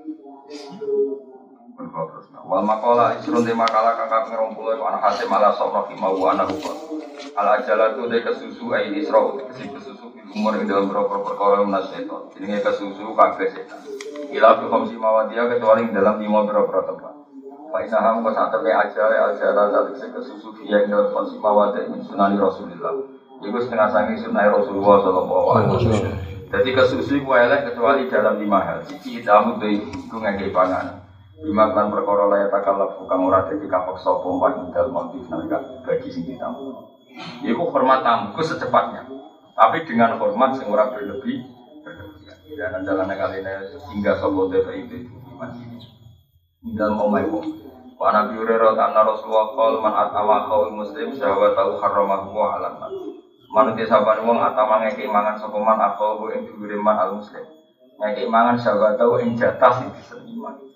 Wal maqala isrun de makalah kakak ngerompulo iku ana hasim ala sawra fi mau ana hukum. Al ajalatu de kesusu ai isra kesi kesusu fi umur ing dalam perkara perkara menaseto. Jenenge kesusu kabeh setan. Ila fi khamsi mawadia kecuali dalam lima perkara tempat. Fa inna ham wa satane ajale ajalan zalik kesusu fi ing dalam khamsi mawadia min sunani Rasulullah. Iku setengah sangi sunai Rasulullah sallallahu alaihi wasallam. Jadi kesusu ku elek kecuali dalam lima hal. Iki tamu de iku ngake pangan. Lima kan perkara layak takalaf bukan ora dadi kapok sapa wae dalem motif nalika bagi sing ditamu. Iku hormat tamuku secepatnya. Tapi dengan hormat sing ora berlebih berlebihan. Dan dalam kaline hingga sapa dhewe itu masih dalam omai wong. Wa Nabi Hurairah anna Rasulullah qol man atawa qaul muslim syahwatahu haramahu wa alam. Manute sabane wong atama ngeke mangan sapa man akau ing dhuwure man al muslim. Ngeke mangan syahwatahu ing jatah sing diseniman.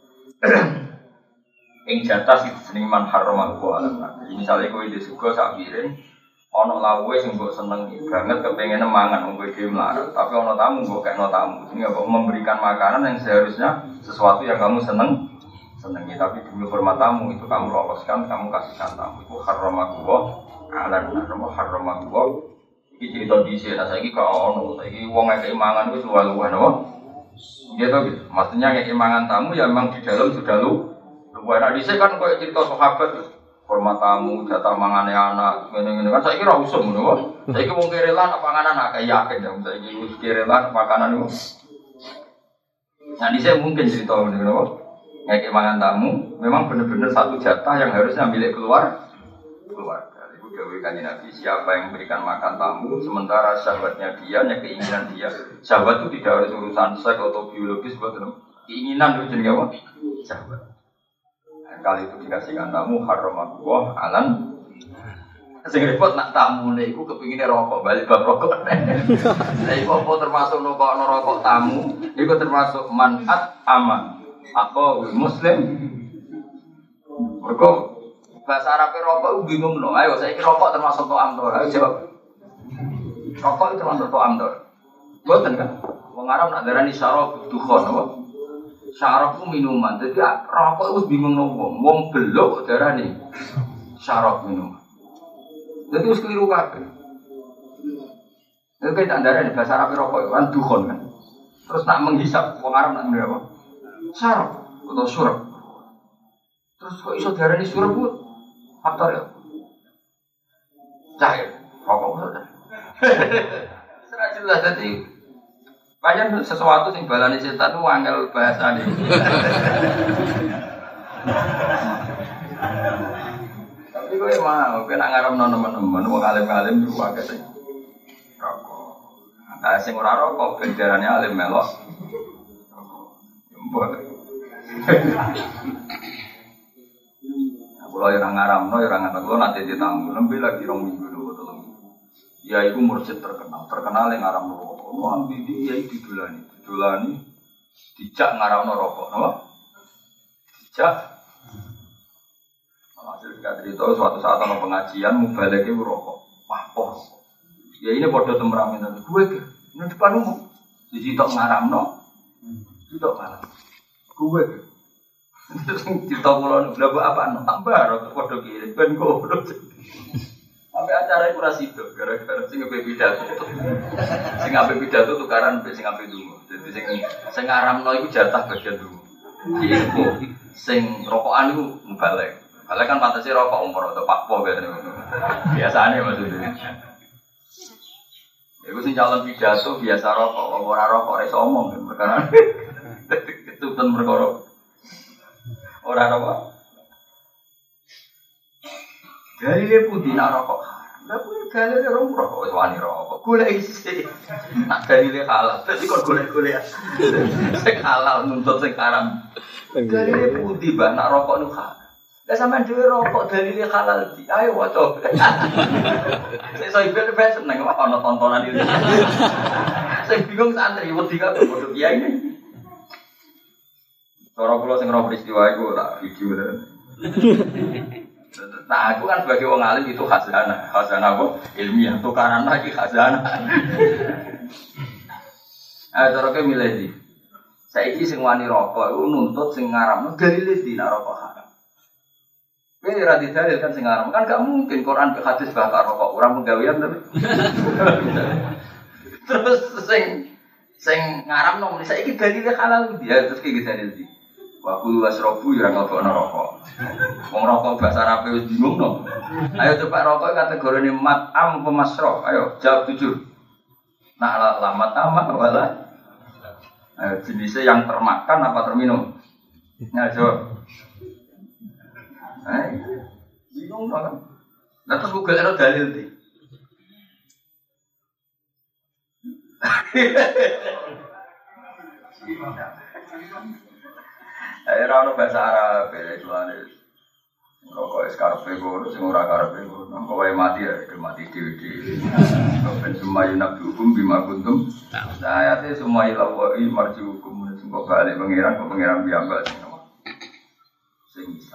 Ing jatah sing seniman haram aku alam. Jadi misalnya kowe di suga sak piring, ana lawuhe sing mbok seneng banget kepengin mangan wong kowe dhewe mlarat, tapi ana tamu mbok kekno tamu. Ini apa memberikan makanan yang seharusnya sesuatu yang kamu seneng senengi, tapi demi hormat tamu itu kamu loloskan, kamu kasihkan tamu. Itu haram aku alam, haram aku. Iki cerita dhisik, nah saiki kok ono, saiki wong ngekek mangan wis luwih-luwih napa? Gitu gitu. Maksudnya yang imangan tamu ya memang di dalam sudah lu. Lu enak dhisik kan koyo cerita sahabat. hormat tamu, jatah mangane anak, ngene-ngene kan saiki ora usum ngono. Saiki wong kerelan apa panganan akeh yakin ya saiki wis kerelan makanan iku. Nah, ini saya mungkin cerita ngono. Ngekek mangan tamu, memang benar-benar satu jatah yang harusnya milik keluar keluarga. Ibu dawuh Kanjeng Nabi, siapa yang memberikan makan tamu sementara sahabatnya dia, yang keinginan dia. Sahabat itu tidak harus urusan seks atau biologis, betul. Keinginan itu jenenge apa? Sahabat. Kali itu dikasihkan tamu haram Allah alan. Sing repot nak tamu niku kepingine rokok balik bab rokok. Lah iku apa termasuk nokokno rokok tamu? Iku termasuk manat aman. Aku muslim. Mergo bahasa Arab rokok bingung no. Ayo saiki rokok termasuk to'am to. Ayo jawab. Rokok itu termasuk to'am to. Mboten kan? Wong Arab nak darani syarab dukhon apa? Syarab itu minuman. Jadi rokok itu bingung no wong. Wong belok darani syarab minuman. Jadi harus keliru kabeh. Itu kan darani bahasa Arab rokok kan dukhon kan. Terus nak menghisap wong Arab nak ngene apa? Syarab atau surab. Terus kok iso diarani surab bu? Faktor ya? Cair, rokok saja. Serah jelas jadi banyak sesuatu yang balani setan itu angel bahasa ini. Tapi gue mau, gue nak ngarep teman-teman, mau alim-alim juga agak sih. Rokok. Nah, sing ora rokok, benderane alim melok. Boleh. Kalau yang ngaramno, yang ngatak lo nanti ditamu, lebih lagi rong minggu dulu tolong. Ya itu mursyid terkenal, terkenal yang ngaramno rokok. Lo ambil dia itu didulani, didulani, dijak ngaramno rokok, no? Dijak. Hasil cerita itu suatu saat ada pengajian, mubalek itu rokok, wah poh. Ya ini bodoh temperament itu, gue ke, ini depan umum, dijitok ngaramno, dijitok ngaram. Gue ke. Cerita mulai udah buat apa? Tambah atau kode kiri, ben goblok. Sampai acara itu rasi itu, gara-gara sing ngapain pidato, sing ngapain pidato tukaran, sing ngapain dulu. Jadi sing sing ngaramno itu jatah bagian dulu. Iku sing rokokan itu balik. Balik kan pantasnya rokok umur atau pakpo biasanya. Biasanya maksudnya. Iku sing calon pidato biasa rokok, ora rokok ora omong kan perkara. Itu kan perkara. Ora apa? Dari dia putih nak rokok. Lah kuwi gale rong rokok wis wani rokok. Golek isi. Nak dari dia halal. Dadi kok golek-golek. Sing halal nuntut sing haram. Dari dia putih bah nak rokok nu halal. Lah sampean dhewe rokok dari dia halal di. Ayo waca. Sing iso ibel ben seneng ana tontonan iki. Sing bingung santri wedi kabeh padha kiai ini. Cara kula sing ora peristiwa iku tak video lho. Nah, aku kan sebagai wong alim itu khazanah, khazanah apa? Ilmiah, tukaran lagi khazanah. Ah, cara ke milih iki. Saiki sing wani rokok iku nuntut sing ngaramno dalile di nak rokok haram. Kowe ora didalil kan sing ngaram, kan gak mungkin Quran ke hadis bakal rokok, orang penggawean tapi. Terus sing sing ngaramno saiki dalile halal dia terus ki dalil di. Waktu wasrobu ya nggak rokok. Wong rokok bahasa Arab wis bingung no. Ayo coba rokok kategori mat'am apa masrob. Ayo jawab jujur. Nah lah mat'am wala. Ayo jenisnya yang termakan apa terminum? Nah jawab. Eh, bingung no kan? Nah terus Google ada dalil di. Saya rano bahasa Arab, ya jualan itu. Rokok eskarpe gue, sing ora karpe gue. Nangko wae mati ya, udah mati dewi-dewi. Ben semua yunak hukum bima kuntum. Saya teh semua ilawai marji hukum. Singkok balik pengiran, kok pengiran biambal sing nama. Sing bisa.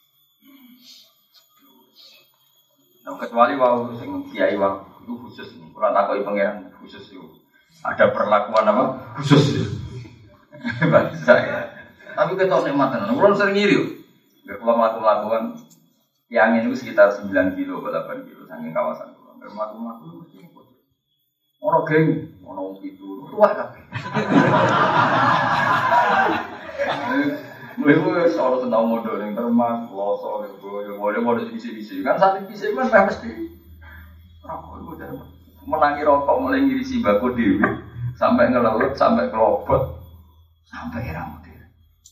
Nah kecuali wau sing kiai wau itu khusus nih. Kurang takoi pengiran khusus itu. Ada perlakuan apa? Khusus. Bahasa ya. Tapi kita nikmat tenan. Kulo sering ngiri. Nek kulo mlaku-mlakuan yang ini sekitar sembilan kilo atau delapan kilo saking kawasan kulo. Nek mlaku-mlaku mesti ikut. Ora geng, ono wong pitu. Tuwa kabeh. Kowe soal tentang modal yang termas, loso, boleh boleh modal bisi-bisi. Kan saat bisi kan pasti rokok itu udah menangi rokok mulai ngirisi bako dewi sampai ngelelut, sampai kelopot, sampai rambut dia.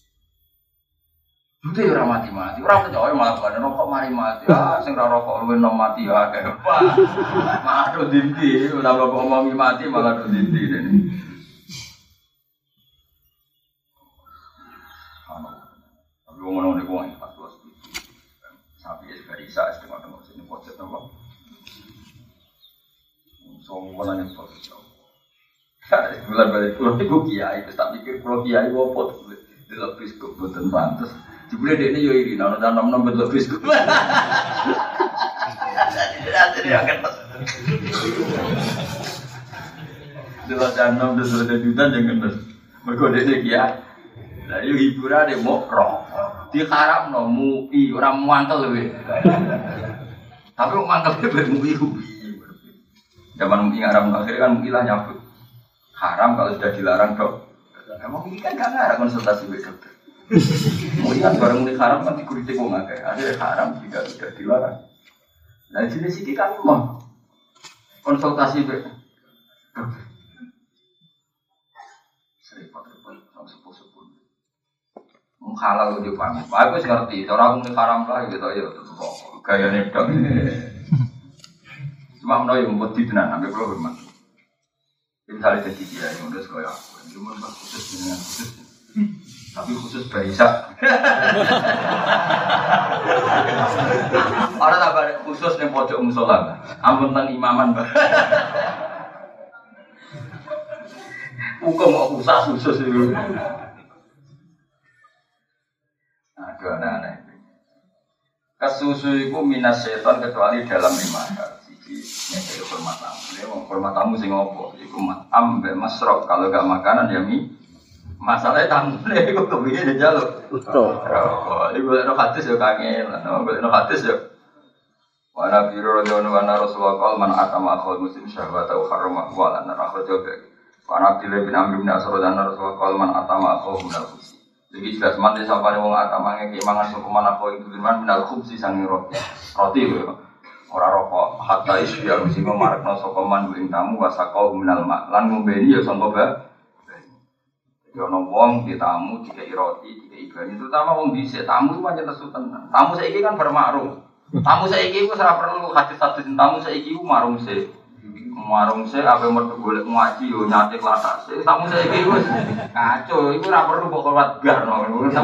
Itu ya orang mati-mati, orang percaya malah pada rokok mari mati. Ah, sing rokok lu nom mati ya kayak apa? Malah dinti, udah bapak ngomongi mati malah dinti ini. Tapi ngomong-ngomong itu orang pas luas itu sapi es garisa es tengok-tengok sini pocet apa semua nanya pocet bulan balik pulau itu kiai itu tak pikir pulau kiai wopot di lebih cukup buatan pantas jebule dia ini yo iri nana dan enam enam lebih cukup jadi jadi akan di luar enam dan sudah juta jangan berkode dia kiai. Lah yo hiburan deh mau rokok. Diharap no mui orang mangkel we. Tapi mangkel be mui ubi. Zaman mui haram akhirnya kan mui lah nyabut. Haram kalau sudah dilarang dok. Emang ini kan gak ngarang konsultasi we dokter. Mui kan bareng mui haram kan dikuritik wong akeh. Akhirnya haram jika sudah dilarang. Nah jenis iki kan mau konsultasi we dokter. Halal di pamit. Aku ngerti, orang muni haram lah gitu ya terus kok gayane tok. Cuma menawa yang buat tenan sampai kalau hormat. Misalnya jadi dia yang udah sekolah aku, cuma khusus dengan khusus. Tapi khusus Baisa. Orang tak ada khusus yang pojok musola. Ampun tentang imaman, Mbak. Hukum kok khusus khusus itu. Aduh aneh-aneh. Kesusu itu minas setan kecuali dalam lima hal. Siji, nyekeli hormat tamu. Dia mau hormat tamu sing ngopo? Iku matam be masrok. Kalau gak makanan ya mie. Masalahnya tamu nih, aku kepengen jaluk. Betul. Oh, ini boleh no hadis ya kangen. Boleh no hadis ya. Wa Nabi radhiyallahu anhu Rasulullah qol man atama akhul muslim syahwata wa harrama wa lana akhrajahu. Wa Nabi bin Amr bin As'ad dan Rasulullah qol man atama akhul minal khubsi. Jadi jelas mati sampai wong atamane keimangan sopeman apa itu firman minal khubsi sangi roti. Roti lho. Ora rokok hatta isya mesti marakno sopeman ing tamu wasaqau minal ma. Lan ngombeni ya sangka ba. Jadi ono wong di tamu dikei roti, dikei banyu. Terutama wong dhisik tamu itu pancen nesu tenan. Tamu saiki kan bermakrum. Tamu saiki wis ora perlu hadis-hadis tamu saiki ku marung sik. Marung sik ape mergo golek ngaji yo nyatik latak sik. Tamu saiki wis kacau, iku ora perlu kok kuat garno.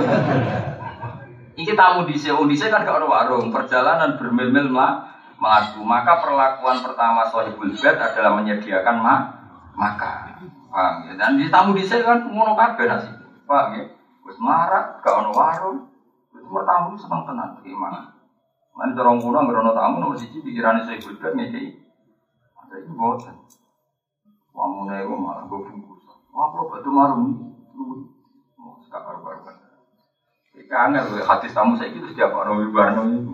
Iki tamu dhisik, wong dhisik kan gak ono warung, perjalanan bermil-mil melaku. Maka perlakuan pertama sahibul bait adalah menyediakan ma makan. Paham ya? Dan di tamu dhisik kan ngono kabeh nasib. Paham ya? Wis marak, gak ono warung. Wis tamu seneng tenan gimana? Lan dorong kuno ngrono tamu nomor siji pikirane sahibul bait ngekeki. Ada iki boten. Wamune iku malah go bungkus. Wah, kok batu marung. Mau sekar barbar. Iki angel lho hadis tamu saiki terus diapa ono wibarno iku.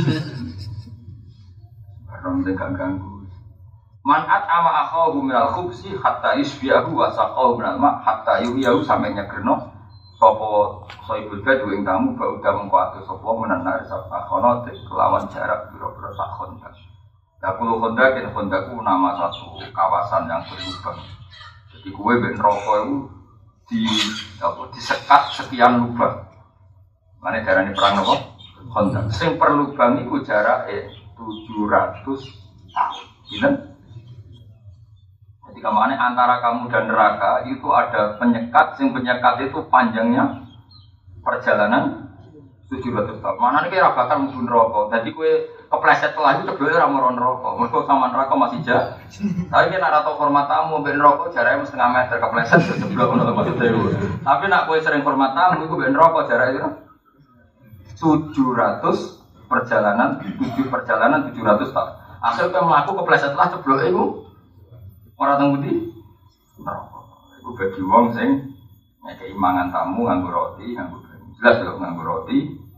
Barang tegak ganggu. Man'at ama akhahu minal khubsi hatta isbiyahu wa saqahu minal ma hatta yuyahu sampe nyegerno sapa sahibul bait ing tamu ba udah mengko atus sapa menanar sapa khono kelawan jarak pira-pira sak khondak. Dakul khondak yen khondakku nama satu kawasan yang berlubang. Jadi kue ben rokok itu di apa disekat sekian lubang. Mane darane perang napa? Khondak. Sing per lubang iku jarake tujuh ratus tahun. Ginen? Jadi kamane antara kamu dan neraka itu ada penyekat, sing penyekat itu panjangnya perjalanan tujuh ratus tahun. Manane kira bakal mlebu neraka. Dadi kowe kepleset telah itu tebele ora moro neraka. Mergo sama neraka masih jauh. Tapi nek ora tau hormat tamu mbek neraka jarake setengah meter kepleset jeblok ngono maksudnya. Tapi nek kowe sering hormat tamu iku mbek neraka jarake tujuh ratus perjalanan, tujuh perjalanan tujuh ratus tahun. Asal kowe mlaku kepleset telah jeblok iku ora teng pundi? Neraka. Iku bagi wong sing ngekeki mangan tamu nganggo roti, nganggo banyu. Jelas lho nganggo roti.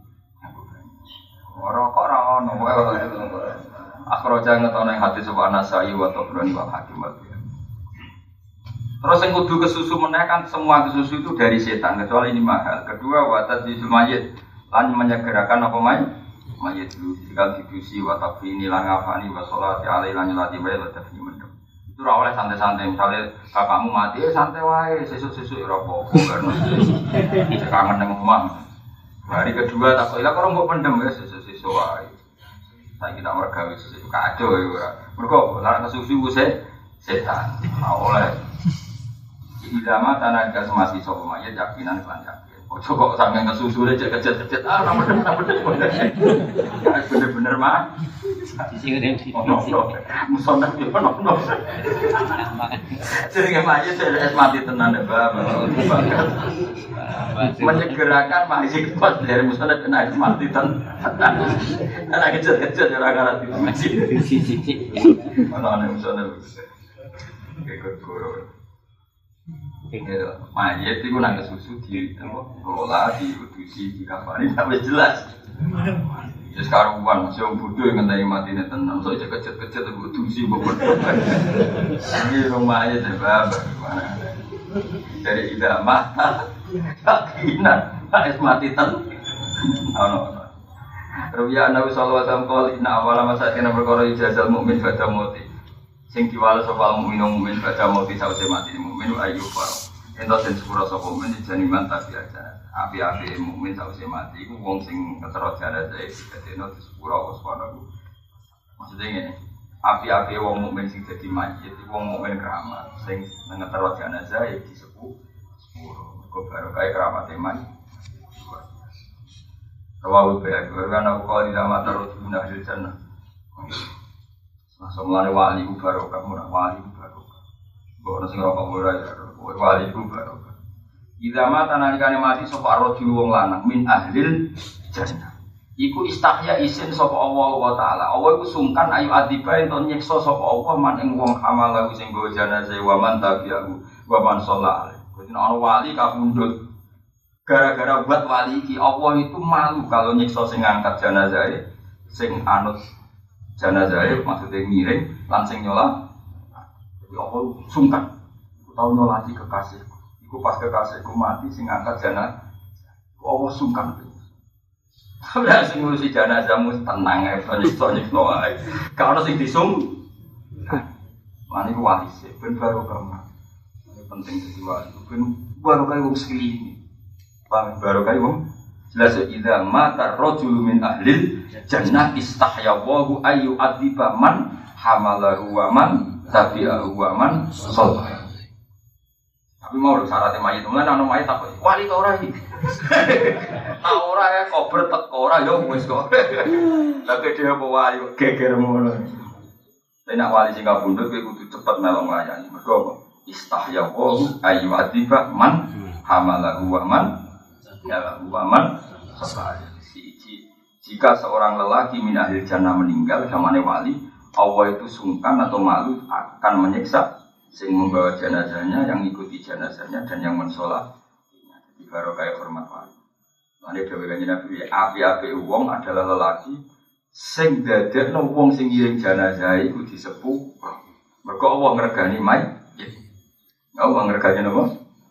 Rokok ora ono wae itu. Akhraja ngetono ing hadis wa nasai wa tabrani wa hakim wa. Terus yang kudu kesusu meneh kan semua kesusu itu dari setan kecuali ini mahal. Kedua watat di mayit lan menyegerakan apa mayit? Mayit dulu jika didusi watak ini lan ngafani wa sholati alaihi lan nyolati wae wa tafni mendem. Itu ora oleh santai-santai misalnya bapakmu mati eh santai wae sesuk-sesuk ora apa-apa karena kangen nang omah. Hari kedua tak kok lha kok mbok pendem ya sesuk-sesuk wae. Saiki tak mergawe sesuk kacau ya ora. Mergo lan kesusu ku setan. Ora oleh Ilama tanah gas mati sopo mayat yakinan kelan yakin. Ojo kok sampe kesusu aja kecet-kecet ah bener bener bener mah. Sisi ngene iki. Musonah yo ono. Jenenge mayat es mati tenan ya Bapak. Menyegerakan mayat pas dari musonah kena es mati tenan. Ana kecet-kecet ora ngarati masih sisi. Ono ana musonah. Ikut guru. Mayat itu nangis susu di kelola, di udusi, di kafani, tapi jelas. Ya sekarang uang, masih orang bodoh yang ngentai mati ini tenang, so aja kecet-kecet, udusi, bodoh. Ini rumah mayat ya bapak, gimana? Dari idamah, yakinan, es mati tenang. Oh no, no. Rupiah Nabi Sallallahu Alaihi Wasallam kali, inna awala masakin berkoro ijazal mu'min baca moti. Sing diwala sapa mukmin mukmin baca mati sause mati mukmin ayu faro. Ento sing sepura sapa mukmin jani mantap biasa. Api-api mukmin sause mati iku wong sing ketero jenazah dadi di sepura waspada ku. Maksudnya ngene. Api-api wong mukmin sing dadi mayit iku wong mukmin keramat sing ngetero jenazah ya disepuh sepura. Mergo barokah keramat iman. Rawu bayar karena aku kalau tidak mata roti guna hasil jannah. Masa mulai wali ku barokah, murah wali ku barokah. Bawa nasi rokok murah ya, wali ku barokah. Idza mata nalikane mati sapa rajul wong lanang min ahlil jannah. Iku istahya isin sapa Allah wa taala. Allah iku sungkan ayu adiba ento nyiksa sapa Allah man ing wong hamalahu sing nggawa jenazah wa man tabi'ahu wa man shalla alaihi. Dadi ana wali kapundhut. Gara-gara buat wali iki Allah itu malu kalau nyiksa sing ngangkat jenazah sing anut jenazah maksudnya ngiring langsung nyola. Jadi Allah sungkan. Aku tahu nyolati kekasihku. Iku pas kekasihku mati sing angkat jenazah. Allah sungkan. Udah sing ngurusi jenazahmu tenang ya, nyiksa-nyiksa wae. Kalau sing disung lan iku wali sih ben baru kamu. Ini penting dadi wali. Ben baru kaya wong sekeliling. Bang baru kaya wong jelas idza mata rajul min ahlil jannah istahya wa ayu adiba man hamalahu wa man tabi'ahu wa man shalla. Tapi mau syaratnya mayit mulane ana mayit apa wali ta ora iki. Ta ora ya kober teko ora ya wis kok. Tapi dia apa wali geger ngono. Nek nak wali sing kabundut kowe kudu cepet melong layani. Mergo apa? Istahya wa ayu adiba man hamalahu wa man ya waman siji jika seorang lelaki min ahli jannah meninggal zamane wali Allah itu sungkan atau malu akan menyiksa sing membawa jenazahnya yang ikuti jenazahnya dan yang mensolat di barokah hormat wali. Mane dhewe kanjeng Nabi api-api wong adalah lelaki sing dadekno wong sing ngiring jenazah iku disepuh mergo Allah ngregani mayit. Allah ngregani napa?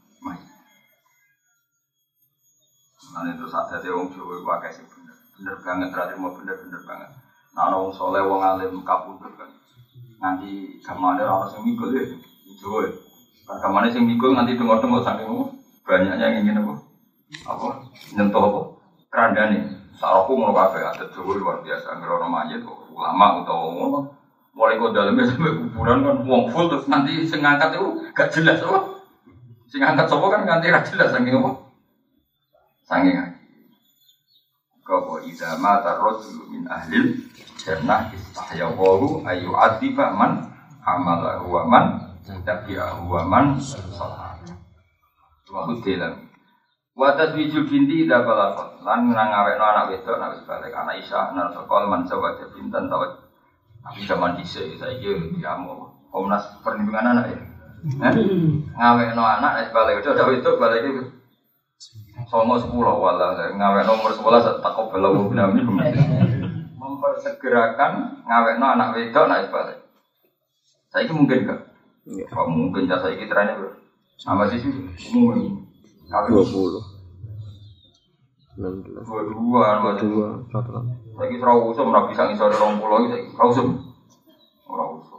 Nah itu saat ada orang Jawa pakai sih bener, bener banget terakhir mau bener-bener banget. Nah orang soleh, orang alim kabundut kan, nanti kemana orang sing mikul ya, Jawa. Kan kemana sing mikul nanti tengok-tengok saking banyaknya yang ingin apa, apa nyentuh apa, keranda nih. Sarapku mau kafe ada Jawa luar biasa, ngerono mayat, ulama atau ngomong, mulai kau dalamnya sampai kuburan kan, uang full terus nanti sing ngangkat itu gak jelas apa, sing ngangkat sopo kan ganti gak jelas saking apa. Sange ngaji. Kau idza mata rajul min ahlil jannah istahya wa ayu adiba man hamalahu wa man tabi'ahu wa man shalla. Wa hutilan. Wa taswijul binti idza balaqat. Lan ngawekno anak wedok nek wis balik anak Isa anak sekol man sawaja pinten tawat. Tapi zaman dhisik saiki diamu Komnas Perlindungan Anak ya. Ngawekno anak wis balik wedok wedok balik iki Somo sepuluh wala ngawek nomor sebelas takut belum binami mempersegerakan ngawek no anak wedok naik balik. Saya ini mungkin gak? Kalau mungkin jasa ini trennya ber. Sama sih umum. dua puluh. enam belas. Dua dua, dua satu. Lagi serau usum, rapi sang isor orang pulau lagi serau usum, orang usum.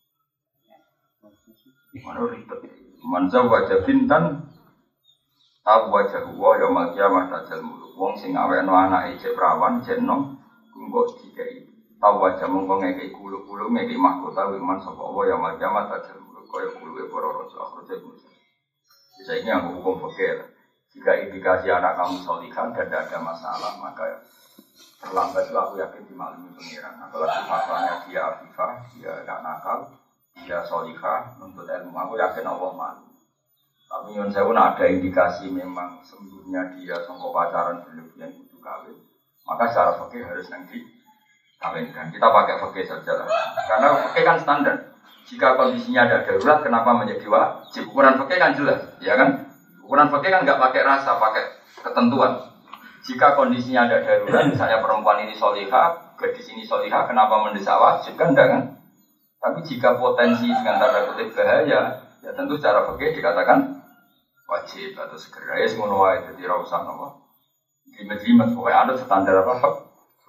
Mana ribet? Manza wajah bintan, tahu wajah gua yang makiamah tajal mulu. Wong sing awe no anak ejek perawan jenong, kumbok dikai. Tahu wajah mongko ngekei kulu-kulu ngekei mahkota wiman sapa Allah yang makiamah tajal mulu. Kaya kulu para rasul akhir jadi. Bisa ini yang hukum fikih. Jika indikasi anak kamu solihah dan tidak ada masalah, maka terlambat itu aku yakin dimaklumi pengiran. Apalagi fatwanya dia afifah, dia tidak nakal, dia solihah, nuntut ilmu. Aku yakin Allah malu. Tapi yang saya pun ada indikasi memang sembuhnya dia sangka pacaran berlebihan itu kawin. Maka secara fikih harus nanti kawinkan. Kita pakai fikih saja lah. Karena fikih kan standar. Jika kondisinya ada darurat, kenapa menjadi wajib? Ukuran fikih kan jelas, ya kan? Ukuran fikih kan nggak pakai rasa, pakai ketentuan. Jika kondisinya ada darurat, misalnya perempuan ini solihah, gadis ini solihah, kenapa mendesak wajib? Kan enggak kan? Tapi jika potensi dengan tanda kutip bahaya, ya tentu secara fikih dikatakan wajib atau segera. Ya semua wae jadi rausan apa? Jimat-jimat, pokoknya ada standar apa?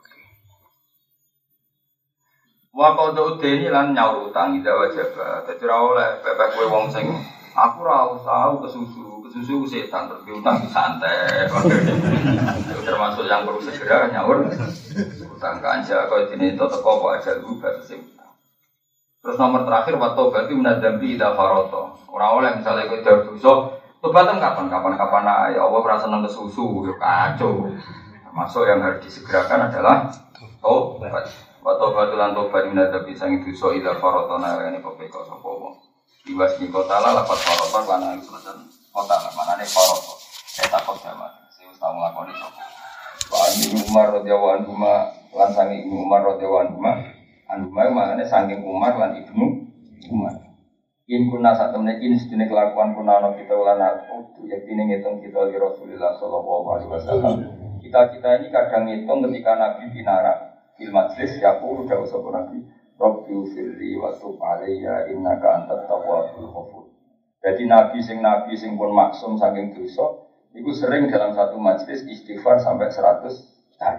Wa qadu deni lan nyaur utang ida wajib. Dadi ora oleh pepek kowe wong sing aku ora usah kesusu, kesusu setan terus utang santai. Termasuk yang perlu segera nyaur utang kanja kaya dene itu teko kok aja lu batas sing. Terus nomor terakhir wa taubati minadzambi ida faroto. Ora oleh misale kowe dar dosa, tobat kapan kapan kapan ae Allah ora seneng kesusu yo kacau. Termasuk yang harus disegerakan adalah taubat. Wato batulan tobat minadabi sangi dosa ila farotona ini kopeko sapa wong. Diwas ni kota la lapat faroton lan selatan kota la manane faroton. Eta kota mah sing wis tau nglakoni sapa. Wa Umar radhiyallahu anhu lan sangi Umar radhiyallahu anhu anhu manane sangi Umar lan Ibnu Umar. In kuna sak temne in sedene kelakuan kuna ana kita lan aku yakine ngitung kita li Rasulullah sallallahu alaihi wasallam. Kita-kita ini kadang ngitung ketika Nabi binara fil majlis yaqulu dawu sapa nabi rabbi firli wa tub alayya innaka antat tawwabul ghafur. Jadi nabi sing nabi sing pun maksum saking dosa iku sering dalam satu majlis istighfar sampai seratus kali.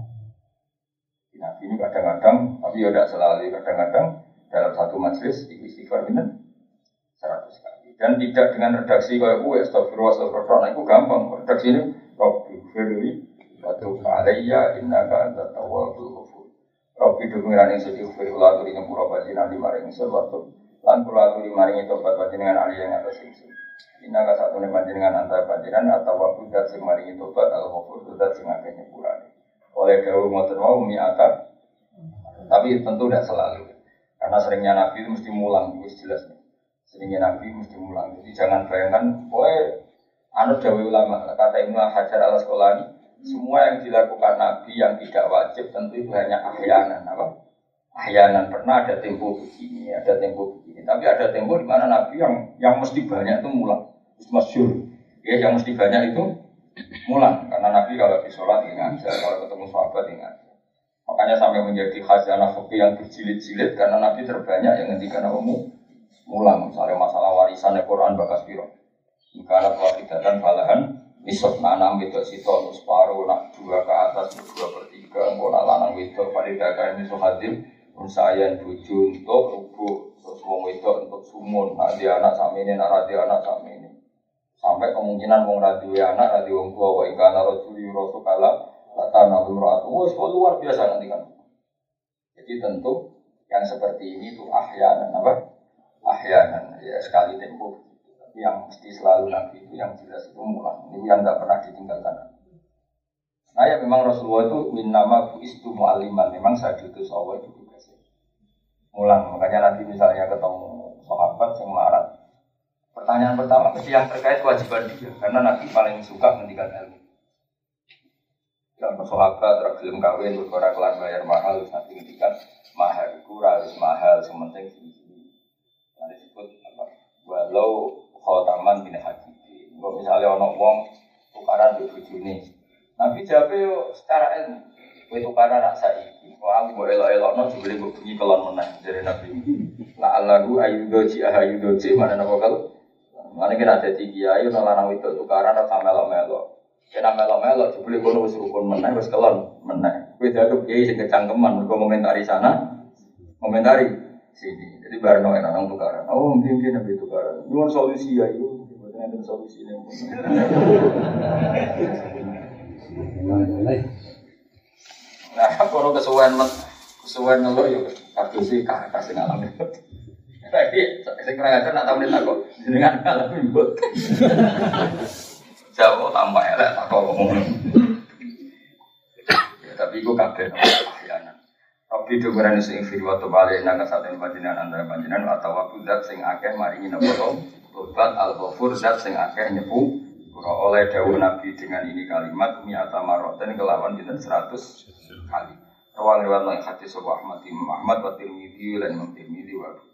Nabi ini kadang-kadang tapi ya tidak selalu, kadang-kadang dalam satu majlis istighfar bener seratus kali. Dan tidak dengan redaksi kayak gue astagfirullah astagfirullah itu gampang. Redaksi ini rabbi firli Watu alayya innaka antat tawwabul ghafur. Rabbi dukungan ing sedhi ufir kula aturi nyepura panjenengan di maring ingsun waktu lan kula aturi maringi tobat panjenengan ali yang atas ingsun. Innaka satune panjenengan antar panjenengan atau waktu dat sing maringi tobat al ghafur dat sing akeh nyepurane. Oleh dawuh ngoten wau mi'ata. Tapi tentu tidak selalu. Karena seringnya Nabi itu mesti mulang, itu jelas. Seringnya Nabi mesti mulang. Jadi jangan bayangkan, boy, anut dawuh ulama kata Ibnu Hajar al-Asqalani. Semua yang dilakukan Nabi yang tidak wajib tentu itu hanya ahyanan, apa? Ahyanan pernah ada tempo begini, ada tempo begini. Tapi ada tempo di mana Nabi yang yang mesti banyak itu mulang, masyhur. Ya, yang mesti banyak itu mulang. Karena Nabi kalau di sholat ingat, kalau ketemu sahabat ingat. Makanya sampai menjadi khazanah fikih yang berjilid-jilid karena Nabi terbanyak yang ngendikan apa mulang. Misalnya masalah warisan Al-Quran bakas piro. Karena wafidatan balahan. Misal nanam wedok sitok separuh, nak dua ke atas, dua per tiga, mau nak lanang wedok pada dagang misal hadir, unsayan buju untuk rubuh, terus wong wedok untuk sumun, nak dia anak sama ini, nak radio anak sama ini, sampai kemungkinan wong radio anak, radio wong tua, wa ikana rojuli rosu kala, lata nabi ratu, wah semua luar biasa nanti kan. Jadi tentu yang seperti ini tuh ahyanan apa? Ahyanan ya sekali tempo. Yang mesti selalu Nabi itu yang jelas itu mulang, itu yang tidak pernah ditinggalkan. Nah ya memang Rasulullah itu min nama buistu mu'aliman, memang saya diutus Allah itu tugasnya mulang. Makanya nanti misalnya ketemu sahabat yang melarat, pertanyaan pertama mesti yang terkait kewajiban dia, karena Nabi paling suka mendikan ilmu. Yang sahabat tergelum kawin berkorak kelar bayar mahal, nanti mendikan mahal kurang harus mahal, sementing tinggi. Nanti disebut apa? Walau khotaman bin hakiki. Kalau misalnya orang wong tukaran di bujuni, Nabi jawab secara ilmu. Kue tukaran nak saiki, wah aku boleh elok-elok, no jubli gue bunyi kelon menang dari Nabi. La Allahu ayudoji ahayudoji mana nama kalau Mana kena jadi kiai, orang lanang itu tukaran atau melo-melo. Kena melo-melo, jebule kono wis rukun meneh, wis kelon meneh. Kowe dianggap kiai sing kecangkeman, mergo komentari sana, komentari sini. Jadi barno enak nang tukaran. Oh, mungkin nabi tukaran. Nyuwun solusi ya itu, mboten enten solusine. Nah, kono kesuwen men, kesuwen ngeluh yo kadosi kakak sing alami. Tapi sing ora ngajar nak taune takok jenengan alami mbok. Jawa tambah elek takok ngomong. Ya tapi iku kabeh ahyanan. Tapi dhuwurane sing firwa to bali nang saten panjenengan antara panjenengan atau waktu zat sing akeh maringi napa to? Tobat al-ghafur zat sing akeh nyepu ora oleh dawuh Nabi dengan ini kalimat mi'ata marratan kelawan pinten seratus kali. Rawang riwayat hadis Abu Ahmad Imam Ahmad wa Tirmidzi lan Imam Tirmidzi wa